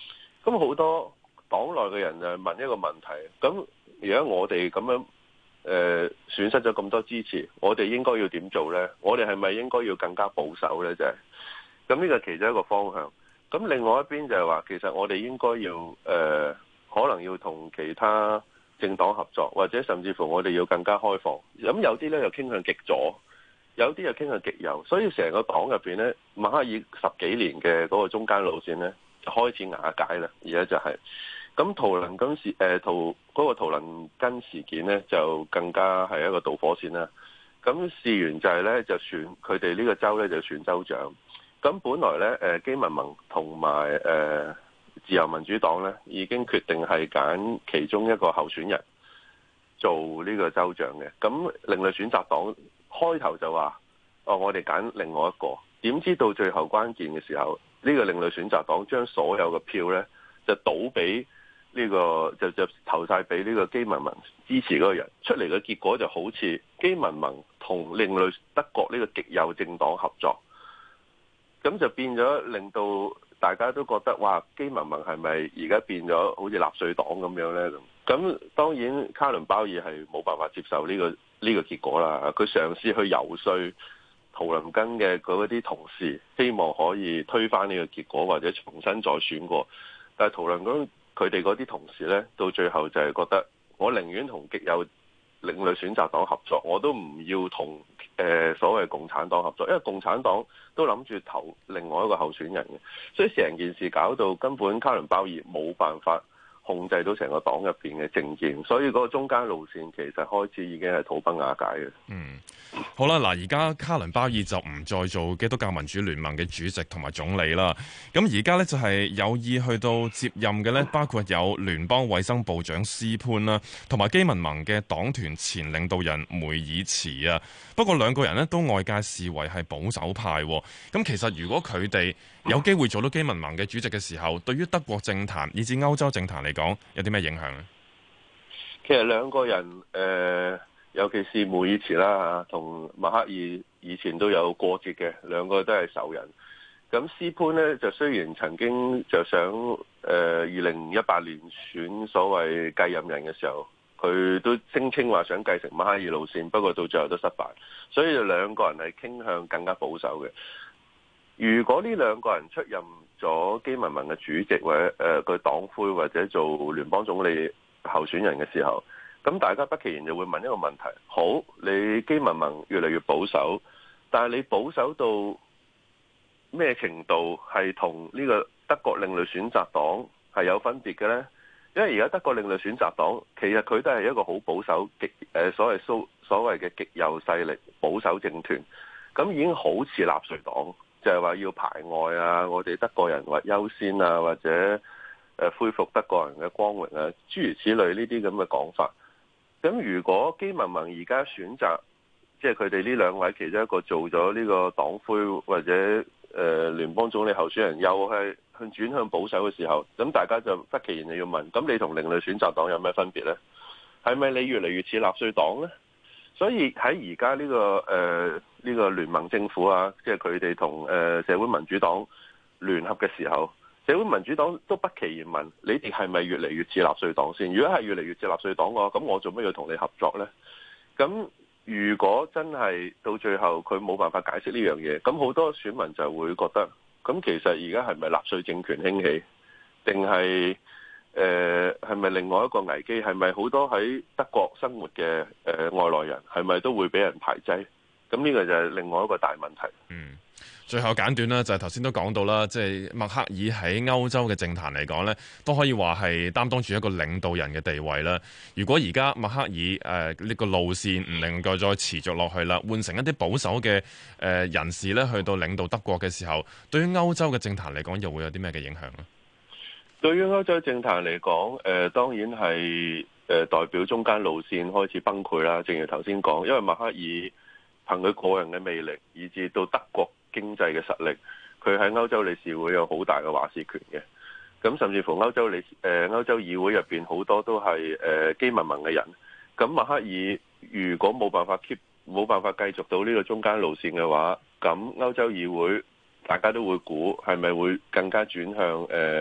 咁好多黨內嘅人就問一個問題，咁而家我哋咁樣誒、呃、損失咗咁多支持，我哋應該要點做呢？我哋係咪應該要更加保守呢？就係咁，呢個其中一個方向。咁另外一邊就係話，其實我哋應該要誒、呃，可能要同其他政黨合作，或者甚至乎我哋要更加開放。咁有啲呢又傾向極左，有啲又傾向極右，所以成個黨入邊呢，默克爾十幾年嘅嗰個中間路線呢，就開始瓦解啦。而家就係、是、咁，圖林根事誒圖嗰個圖林根事件呢，就更加係一個導火線啦。咁事緣就係呢，就選佢哋呢個州呢，就選州長。咁本來咧，誒基民盟同埋誒自由民主黨咧，已經決定係揀其中一個候選人做呢個州長嘅。咁另類選擇黨開頭就話：哦，我哋揀另外一個。點知到最後關鍵嘅時候，呢個另類選擇黨將所有嘅票咧，就倒俾呢個，就就投晒俾呢個基民盟支持嗰個人。出嚟嘅結果就好似基民盟同另類德國呢個極右政黨合作。咁就變咗，令到大家都覺得，哇！基民盟係咪而家變咗好似納粹黨咁樣呢？咁咁當然，卡倫鮑爾係冇辦法接受呢個呢個結果啦。佢嘗試去游說圖林根嘅嗰啲同事，希望可以推翻呢個結果，或者重新再選過。但係圖林根佢哋嗰啲同事呢，到最後就係覺得，我寧願同極右另類選擇黨合作，我都唔要同誒、呃、所謂共產黨合作，因為共產黨都諗住投另外一個候選人嘅，所以成件事搞到根本卡倫鮑爾冇辦法控制到成個黨入邊嘅政見，所以嗰個中間路線其實開始已經係土崩瓦解嘅。 嗯，好啦，嗱，而家卡倫鮑爾就唔再做基督教民主聯盟嘅主席同埋總理啦。咁而家呢，就係有意去到接任嘅呢，包括有聯邦衛生部長斯潘啦，同埋基民盟嘅黨團前領導人梅爾茨啊。不過兩個人呢，都外界視為係保守派。咁其實如果佢哋有機會做到基民盟嘅主席嘅時候，對於德國政壇以至歐洲政壇嚟講，有啲咩影響呢？ 其實兩個人誒、呃，尤其是梅爾茨啦，同默克爾以前都有過節嘅，兩個都係仇人。咁斯潘呢，就雖然曾經就想誒二零一八年選所謂繼任人嘅時候，佢都聲稱話想繼承默克爾路線，不過到最後都失敗。所以兩個人係傾向更加保守嘅。如果呢兩個人出任咗基民盟嘅主席或者誒佢黨魁或者做聯邦總理候選人嘅時候，咁大家不其然就會問一個問題：好，你基民盟越嚟越保守，但係你保守到咩程度係同呢個德國另類選擇黨係有分別嘅呢？因為而家德國另類選擇黨其實佢都係一個好保守極誒所謂蘇所謂嘅極右勢力保守政團，咁已經好似納粹黨。就係話要排外啊，我哋德國人或優先啊，或者誒恢復德國人嘅光榮啊，諸如此類呢啲咁嘅講法。咁如果基民盟而家選擇，即係佢哋呢兩位其中一個做咗呢個黨魁或者誒、呃、聯邦總理候選人，又係向轉向保守嘅時候，咁大家就不其然就要問：咁你同另類選擇黨有咩分別呢？係咪你越嚟越似納粹黨呢？所以喺而家呢個誒呢、呃這個聯盟政府啊，即係佢哋同誒社會民主黨聯合嘅時候，社會民主黨都不其然問：你哋係咪越嚟越似納粹黨先？如果係越嚟越似納粹黨嘅話，咁我做咩要同你合作呢？咁如果真係到最後佢冇辦法解釋呢樣嘢，咁好多選民就會覺得：咁其實而家係咪納粹政權興起，定係？誒係咪另外一個危機？係咪好多喺德國生活嘅誒、呃、外來人係咪都會俾人排擠？咁呢個就係另外一個大問題。 嗯，最後簡短啦，就係頭先都講到啦，即係默克爾喺歐洲嘅政壇嚟講呢，都可以話係擔當住一個領導人嘅地位啦。如果而家默克爾誒呢個路線唔能夠再持續落去啦，換成一啲保守嘅誒人士呢，去到領導德國嘅時候，對於歐洲嘅政壇嚟講，又會有啲咩嘅影響呢？ 對於歐洲政壇嚟講，誒、呃、當然係誒、呃、代表中間路線開始崩潰啦。正如頭先講，因為默克爾憑佢個人嘅魅力，以至到德國經濟嘅實力，佢喺歐洲理事會有好大嘅話事權嘅。咁甚至乎歐洲理誒、呃、歐洲議會入邊好多都係誒、呃、基民盟嘅人。咁默克爾如果冇辦法 keep 冇辦法繼續到呢個中間路線嘅話，咁歐洲議會大家都會估係咪會更加轉向誒？呃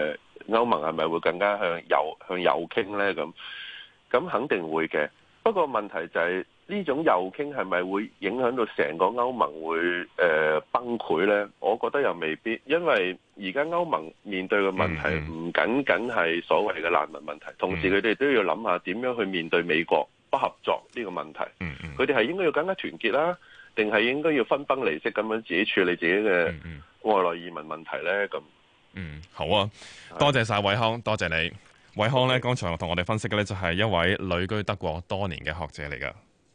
歐盟係咪會更加向右向右傾呢？咁咁肯定會嘅。不過問題就係呢種右傾係咪會影響到成個歐盟會誒、呃、崩潰呢？我覺得又未必，因為而家歐盟面對嘅問題唔僅僅係所謂嘅難民問題，同時佢哋都要諗下點樣去面對美國不合作呢個問題。佢哋係應該要更加團結啦，定係應該要分崩離析咁樣自己處理自己嘅外來移民問題呢？咁嗯，好啊，多謝晒瑋康，多謝你。瑋康呢，剛才同我哋分析嘅呢，就係一位旅居德國多年嘅學者嚟㗎。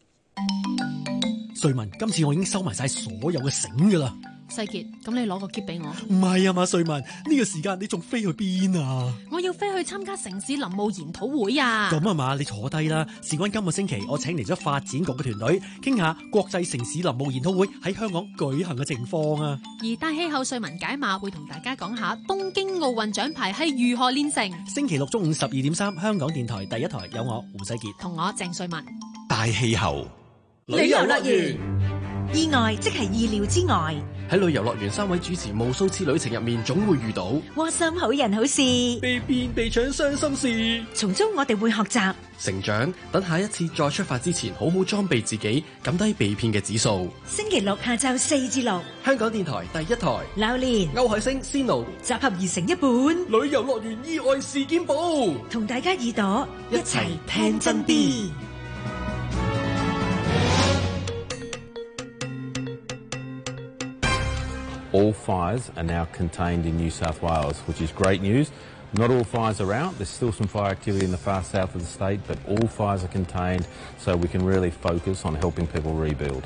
瑞文，今次我已經收埋晒所有嘅繩噶啦。 世傑，咁你攞個篋俾我。 唔係啊嘛，瑞文，呢個時間你仲飛去邊啊？ 我要飛去參加城市林務研討會啊！ 咁啊嘛，你坐低啦。事關今個星期，我請嚟咗發展局嘅團隊，傾下國際城市林務研討會喺香港舉行嘅情況啊。 而大氣候瑞文解碼會同大家講下東京奧運獎牌係如何煉成。 星期六中午十二點三，香港電台第一台有我胡世傑同我鄭瑞文。 大氣候旅遊樂園，意外即係意料之外。 喺旅遊樂園，三位主持無數次旅程入面，總會遇到窩心好人好事， 被騙被搶傷心事。 從中我哋會學習成長，等下一次再出發之前，好好裝備自己，減低被騙嘅指數。 星期六下晝四至六， 香港電台第一台， 榴蓮、 歐海星、Sino 集合而成一本旅遊樂園意外事件簿， 同大家耳朵一齊聽真啲。 All fires are now contained in New South Wales, which is great news. Not all fires are out. There's still some fire activity in the far south of the state, but all fires are contained, so we can really focus on helping people rebuild.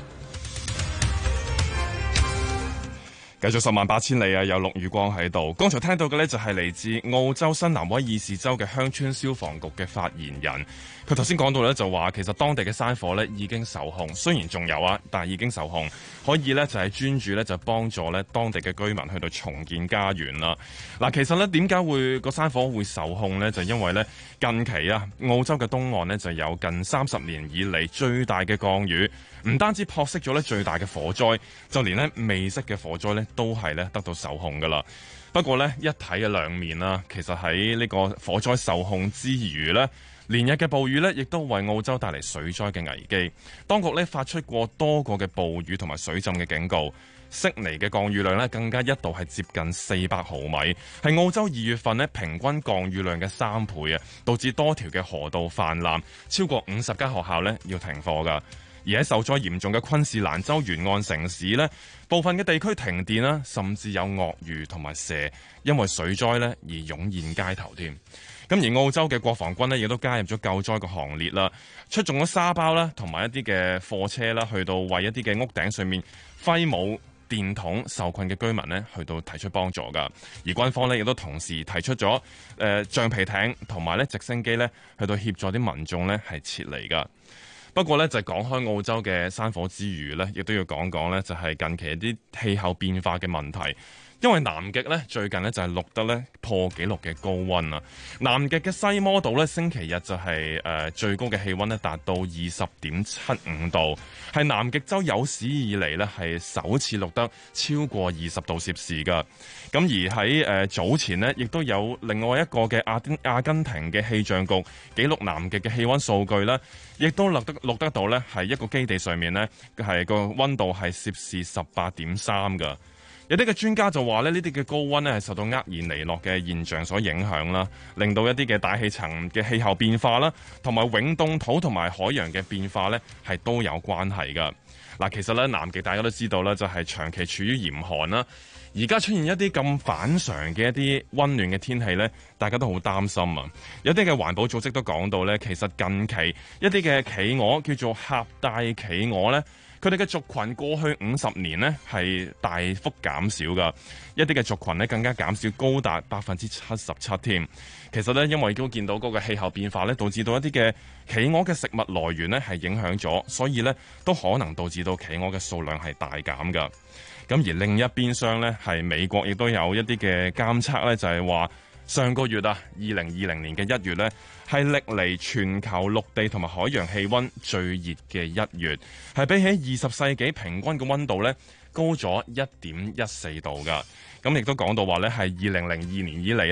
繼續十萬八千里啊！有陸宇光喺度。剛才聽到嘅呢，就係嚟自澳洲新南威爾士州嘅鄉村消防局嘅發言人。佢頭先講到呢，就話其實當地嘅山火呢已經受控，雖然仲有啊，但係已經受控，可以呢，就係專注呢，就幫助呢當地嘅居民去到重建家園啦。嗱，其實呢，點解會個山火會受控呢？就因為呢，近期啊，澳洲嘅東岸呢，就有近三十年以嚟最大嘅降雨，唔單止撲熄咗呢最大嘅火災，就連呢未熄嘅火災呢，都係咧得到受控噶啦。不過呢，一體嘅兩面啦，其實喺呢個火災受控之餘呢，連日嘅暴雨呢，亦都為澳洲帶嚟水災嘅危機。當局呢，發出過多個嘅暴雨同埋水浸嘅警告。悉尼嘅降雨量呢，更加一度係接近四百毫米，係澳洲二月份呢平均降雨量嘅三倍啊，導致多條嘅河道泛濫，超過五十間學校呢要停課噶。而喺受災嚴重嘅昆士蘭州沿岸城市呢，部分嘅地區停電啦，甚至有鱷魚同埋蛇因為水災呢而湧現街頭添。咁而澳洲嘅國防軍呢，亦都加入咗救災嘅行列啦，出動咗沙包啦，同埋一啲嘅貨車啦，去到為一啲嘅屋頂上面揮舞電筒受困嘅居民呢，去到提出幫助噶。而軍方呢，亦都同時提出咗誒橡皮艇同埋咧直升機呢，去到協助啲民眾呢係撤離噶。不過咧，就講開澳洲嘅山火之餘呢，亦都要講講呢，就係近期一啲氣候變化嘅問題。因為南極呢，最近呢就係錄得呢破紀錄嘅高溫啊！南極嘅西摩島呢，星期日就係誒最高嘅氣溫呢達到二十點七五度，係南極洲有史以嚟呢係首次錄得超過二十度攝氏噶。咁而喺誒早前呢，亦都有另外一個嘅阿丁阿根廷嘅氣象局記錄南極嘅氣溫數據呢，亦都錄得錄得到呢係一個基地上面呢，係個溫度係攝氏十八點三噶。有啲嘅專家就話咧，呢啲嘅高溫咧係受到厄爾尼諾嘅現象所影響啦，令到一啲嘅大氣層嘅氣候變化啦，同埋永凍土同埋海洋嘅變化咧係都有關係噶。嗱，其實咧南極大家都知道咧，就係長期處於嚴寒啦。而家出現一啲咁反常嘅一啲溫暖嘅天氣咧，大家都好擔心啊。有啲嘅環保組織都講到咧，其實近期一啲嘅企鵝叫做狹帶企鵝咧。佢哋嘅族群過去五十年呢係大幅減少㗎，一啲嘅族群呢更加減少高達百分之七十七添。其實呢，因為都見到嗰個氣候變化呢，導致到一啲嘅企鵝嘅食物來源呢係影響咗，所以呢都可能導致到企鵝嘅數量係大減㗎。咁而另一邊廂呢，係美國亦都有一啲嘅監測呢，就係話上個月啊，二零二零年嘅一月呢，係歷嚟全球陸地同埋海洋氣溫最熱嘅一月，係比起二十世紀平均嘅溫度呢高咗一點一四度㗎。咁亦都講到話呢，係二零零二年以嚟呢，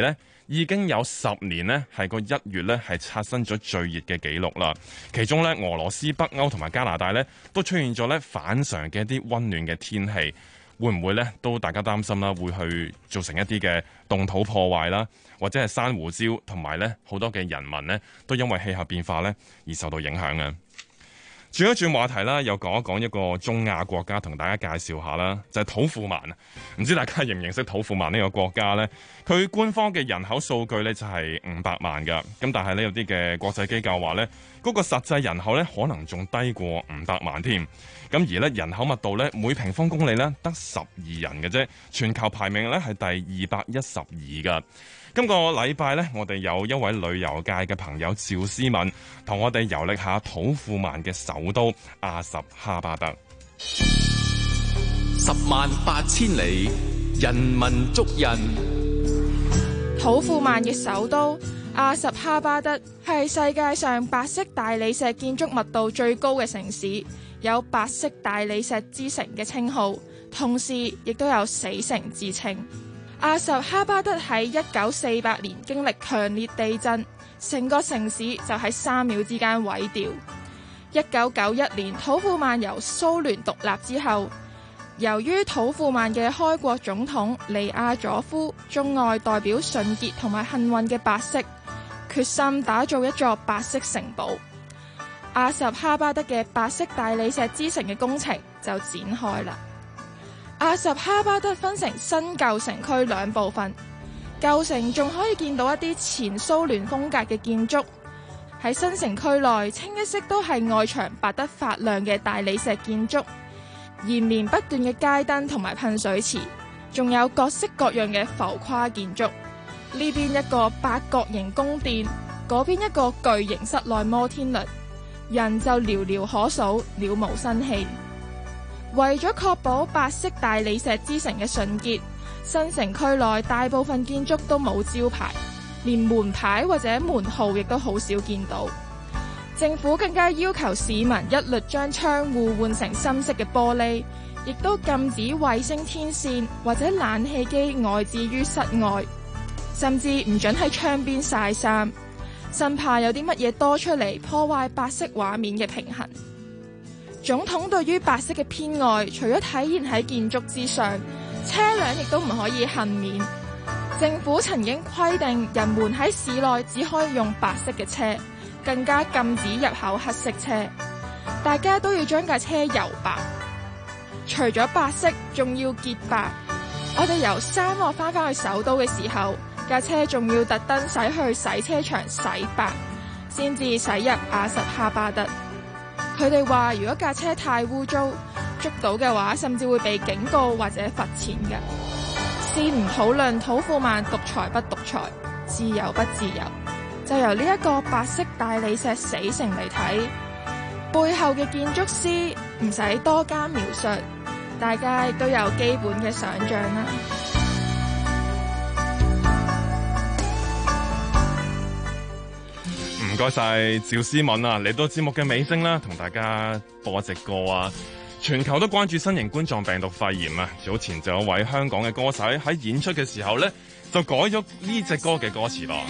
已經有十年呢係個一月呢係刷新咗最熱嘅紀錄啦。其中呢，俄羅斯、北歐同埋加拿大呢都出現咗呢反常嘅一啲溫暖嘅天氣，會唔會呢？都大家擔心啦，會去造成一啲嘅凍土破壞啦，或者係珊瑚礁同埋呢好多嘅人民呢都因為氣候變化呢而受到影響嘅。轉一轉話題啦，又講一講一個中亞國家，同大家介紹下啦，就係土庫曼啊！唔知大家認唔認識土庫曼呢個國家呢？佢官方嘅人口數據呢就係五百萬㗎，咁但係呢，有啲嘅國際機構話呢，嗰個實際人口呢可能仲低過五百萬添。咁而呢人口密度呢，每平方公里呢得十二人嘅啫，全球排名呢係第二百一十二㗎。今個禮拜呢，我哋有一位旅遊界嘅朋友趙思敏，同我哋遊歷下土庫曼嘅首都阿什哈巴德。 十萬八千里，人文足印。 土庫曼嘅首都阿什哈巴德係世界上白色大理石建築密度最高嘅城市，有白色大理石之城嘅稱號，同時亦都有死城之稱。阿什哈巴德喺一九四八年經歷強烈地震，成個城市就喺三秒之間毀掉。一九九一年土庫曼由蘇聯獨立之後，由於土庫曼嘅開國總統尼亞佐夫鍾愛代表純潔同埋幸運嘅白色，決心打造一座白色城堡。阿什哈巴德嘅白色大理石之城嘅工程就展開啦。阿什哈巴德分成新舊城區兩部分，舊城仲可以見到一啲前蘇聯風格嘅建築。喺新城區內，清一色都係外牆白得發亮嘅大理石建築，延綿不斷嘅街燈同埋噴水池，仲有各式各樣嘅浮誇建築。呢邊一個八角形宮殿，嗰邊一個巨型室內摩天輪，人就寥寥可數，了無生氣。為咗確保白色大理石之城嘅純潔，新城區內大部分建築都冇招牌，連門牌或者門號亦都好少見到。政府更加要求市民一律將窗戶換成深色嘅玻璃，亦都禁止衛星天線或者冷氣機外置於室外，甚至唔准喺窗邊曬衫，生怕有啲乜嘢多出嚟破壞白色畫面嘅平衡。總統對於白色嘅偏愛，除咗體現喺建築之上，車輛亦都唔可以幸免。政府曾經規定人們喺市內只可以用白色嘅車，更加禁止入口黑色車。大家都要將架車油白，除咗白色，仲要潔白。我哋由沙漠翻返去首都嘅時候，架車仲要特登駛去洗車場洗白，先至駛入阿什哈巴德。佢哋話如果架車太污糟，捉到嘅話甚至會被警告或者罰錢嘅。先唔討論土庫曼獨裁不獨裁，自由不自由，就由呢一個白色大理石死城嚟睇，背後嘅建築師唔使多加描述，大家都有基本嘅想像啦。 唔該晒趙思敏啊，嚟到節目嘅尾聲啦，同大家播一隻歌啊！全球都關注新型冠狀病毒肺炎啊，早前就有位香港嘅歌手喺演出嘅時候呢，就改咗呢隻歌嘅歌詞咯。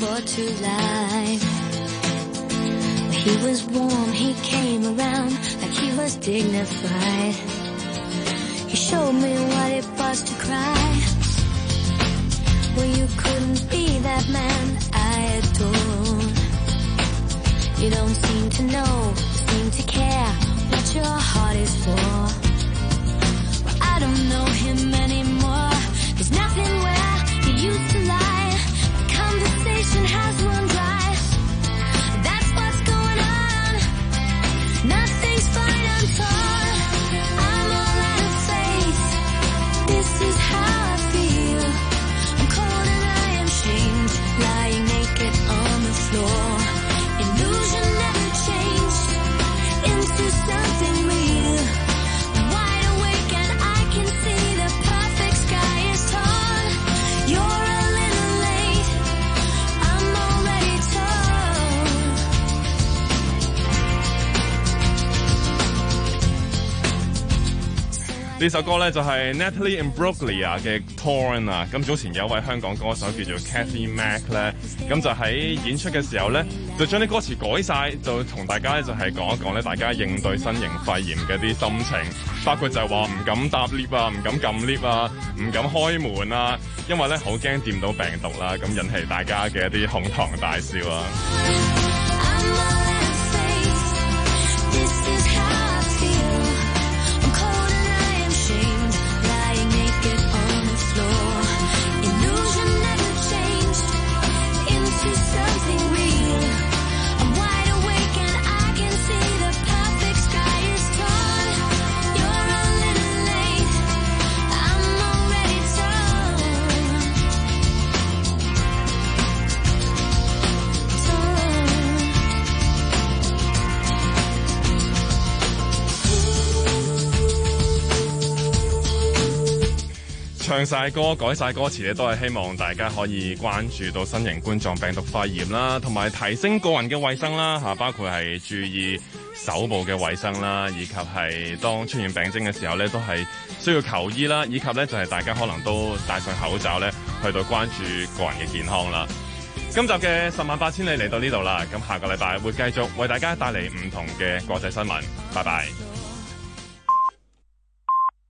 You don't seem to know, seem to care what your heart is for. Well, I don't know him anymore. There's nothing where he used to lie. The conversation has run dry. That's what's going on. Nothing's fine, I'm torn. I'm all out of faith. This is how I feel. I'm cold and I am shamed, lying naked on the floor.Illusion never changed into something real. 呢首歌咧就係 Natalie Imbruglia 嘅 Torn 啊，咁早前有一位香港歌手叫做 Kathy Mac 咧，咁就喺演出嘅時候咧，就將啲歌詞改晒，就同大家咧就係講一講咧，大家應對新型肺炎嘅啲心情，包括就係話唔敢搭 lift 啊，唔敢撳 lift 啊，唔敢開門啊，因為咧好驚掂到病毒啦，咁引起大家嘅一啲哄堂大笑啊。唱晒歌改晒歌詞咧，都係希望大家可以關注到新型冠狀病毒肺炎啦，同埋提升個人嘅衛生啦嚇，包括係注意手部嘅衛生啦，以及係當出現病徵嘅時候咧，都係需要求醫啦，以及咧就係大家可能都戴上口罩咧，去到關注個人嘅健康啦。今集嘅十萬八千里嚟到呢度啦，咁下個禮拜會繼續為大家帶嚟唔同嘅國際新聞。拜拜。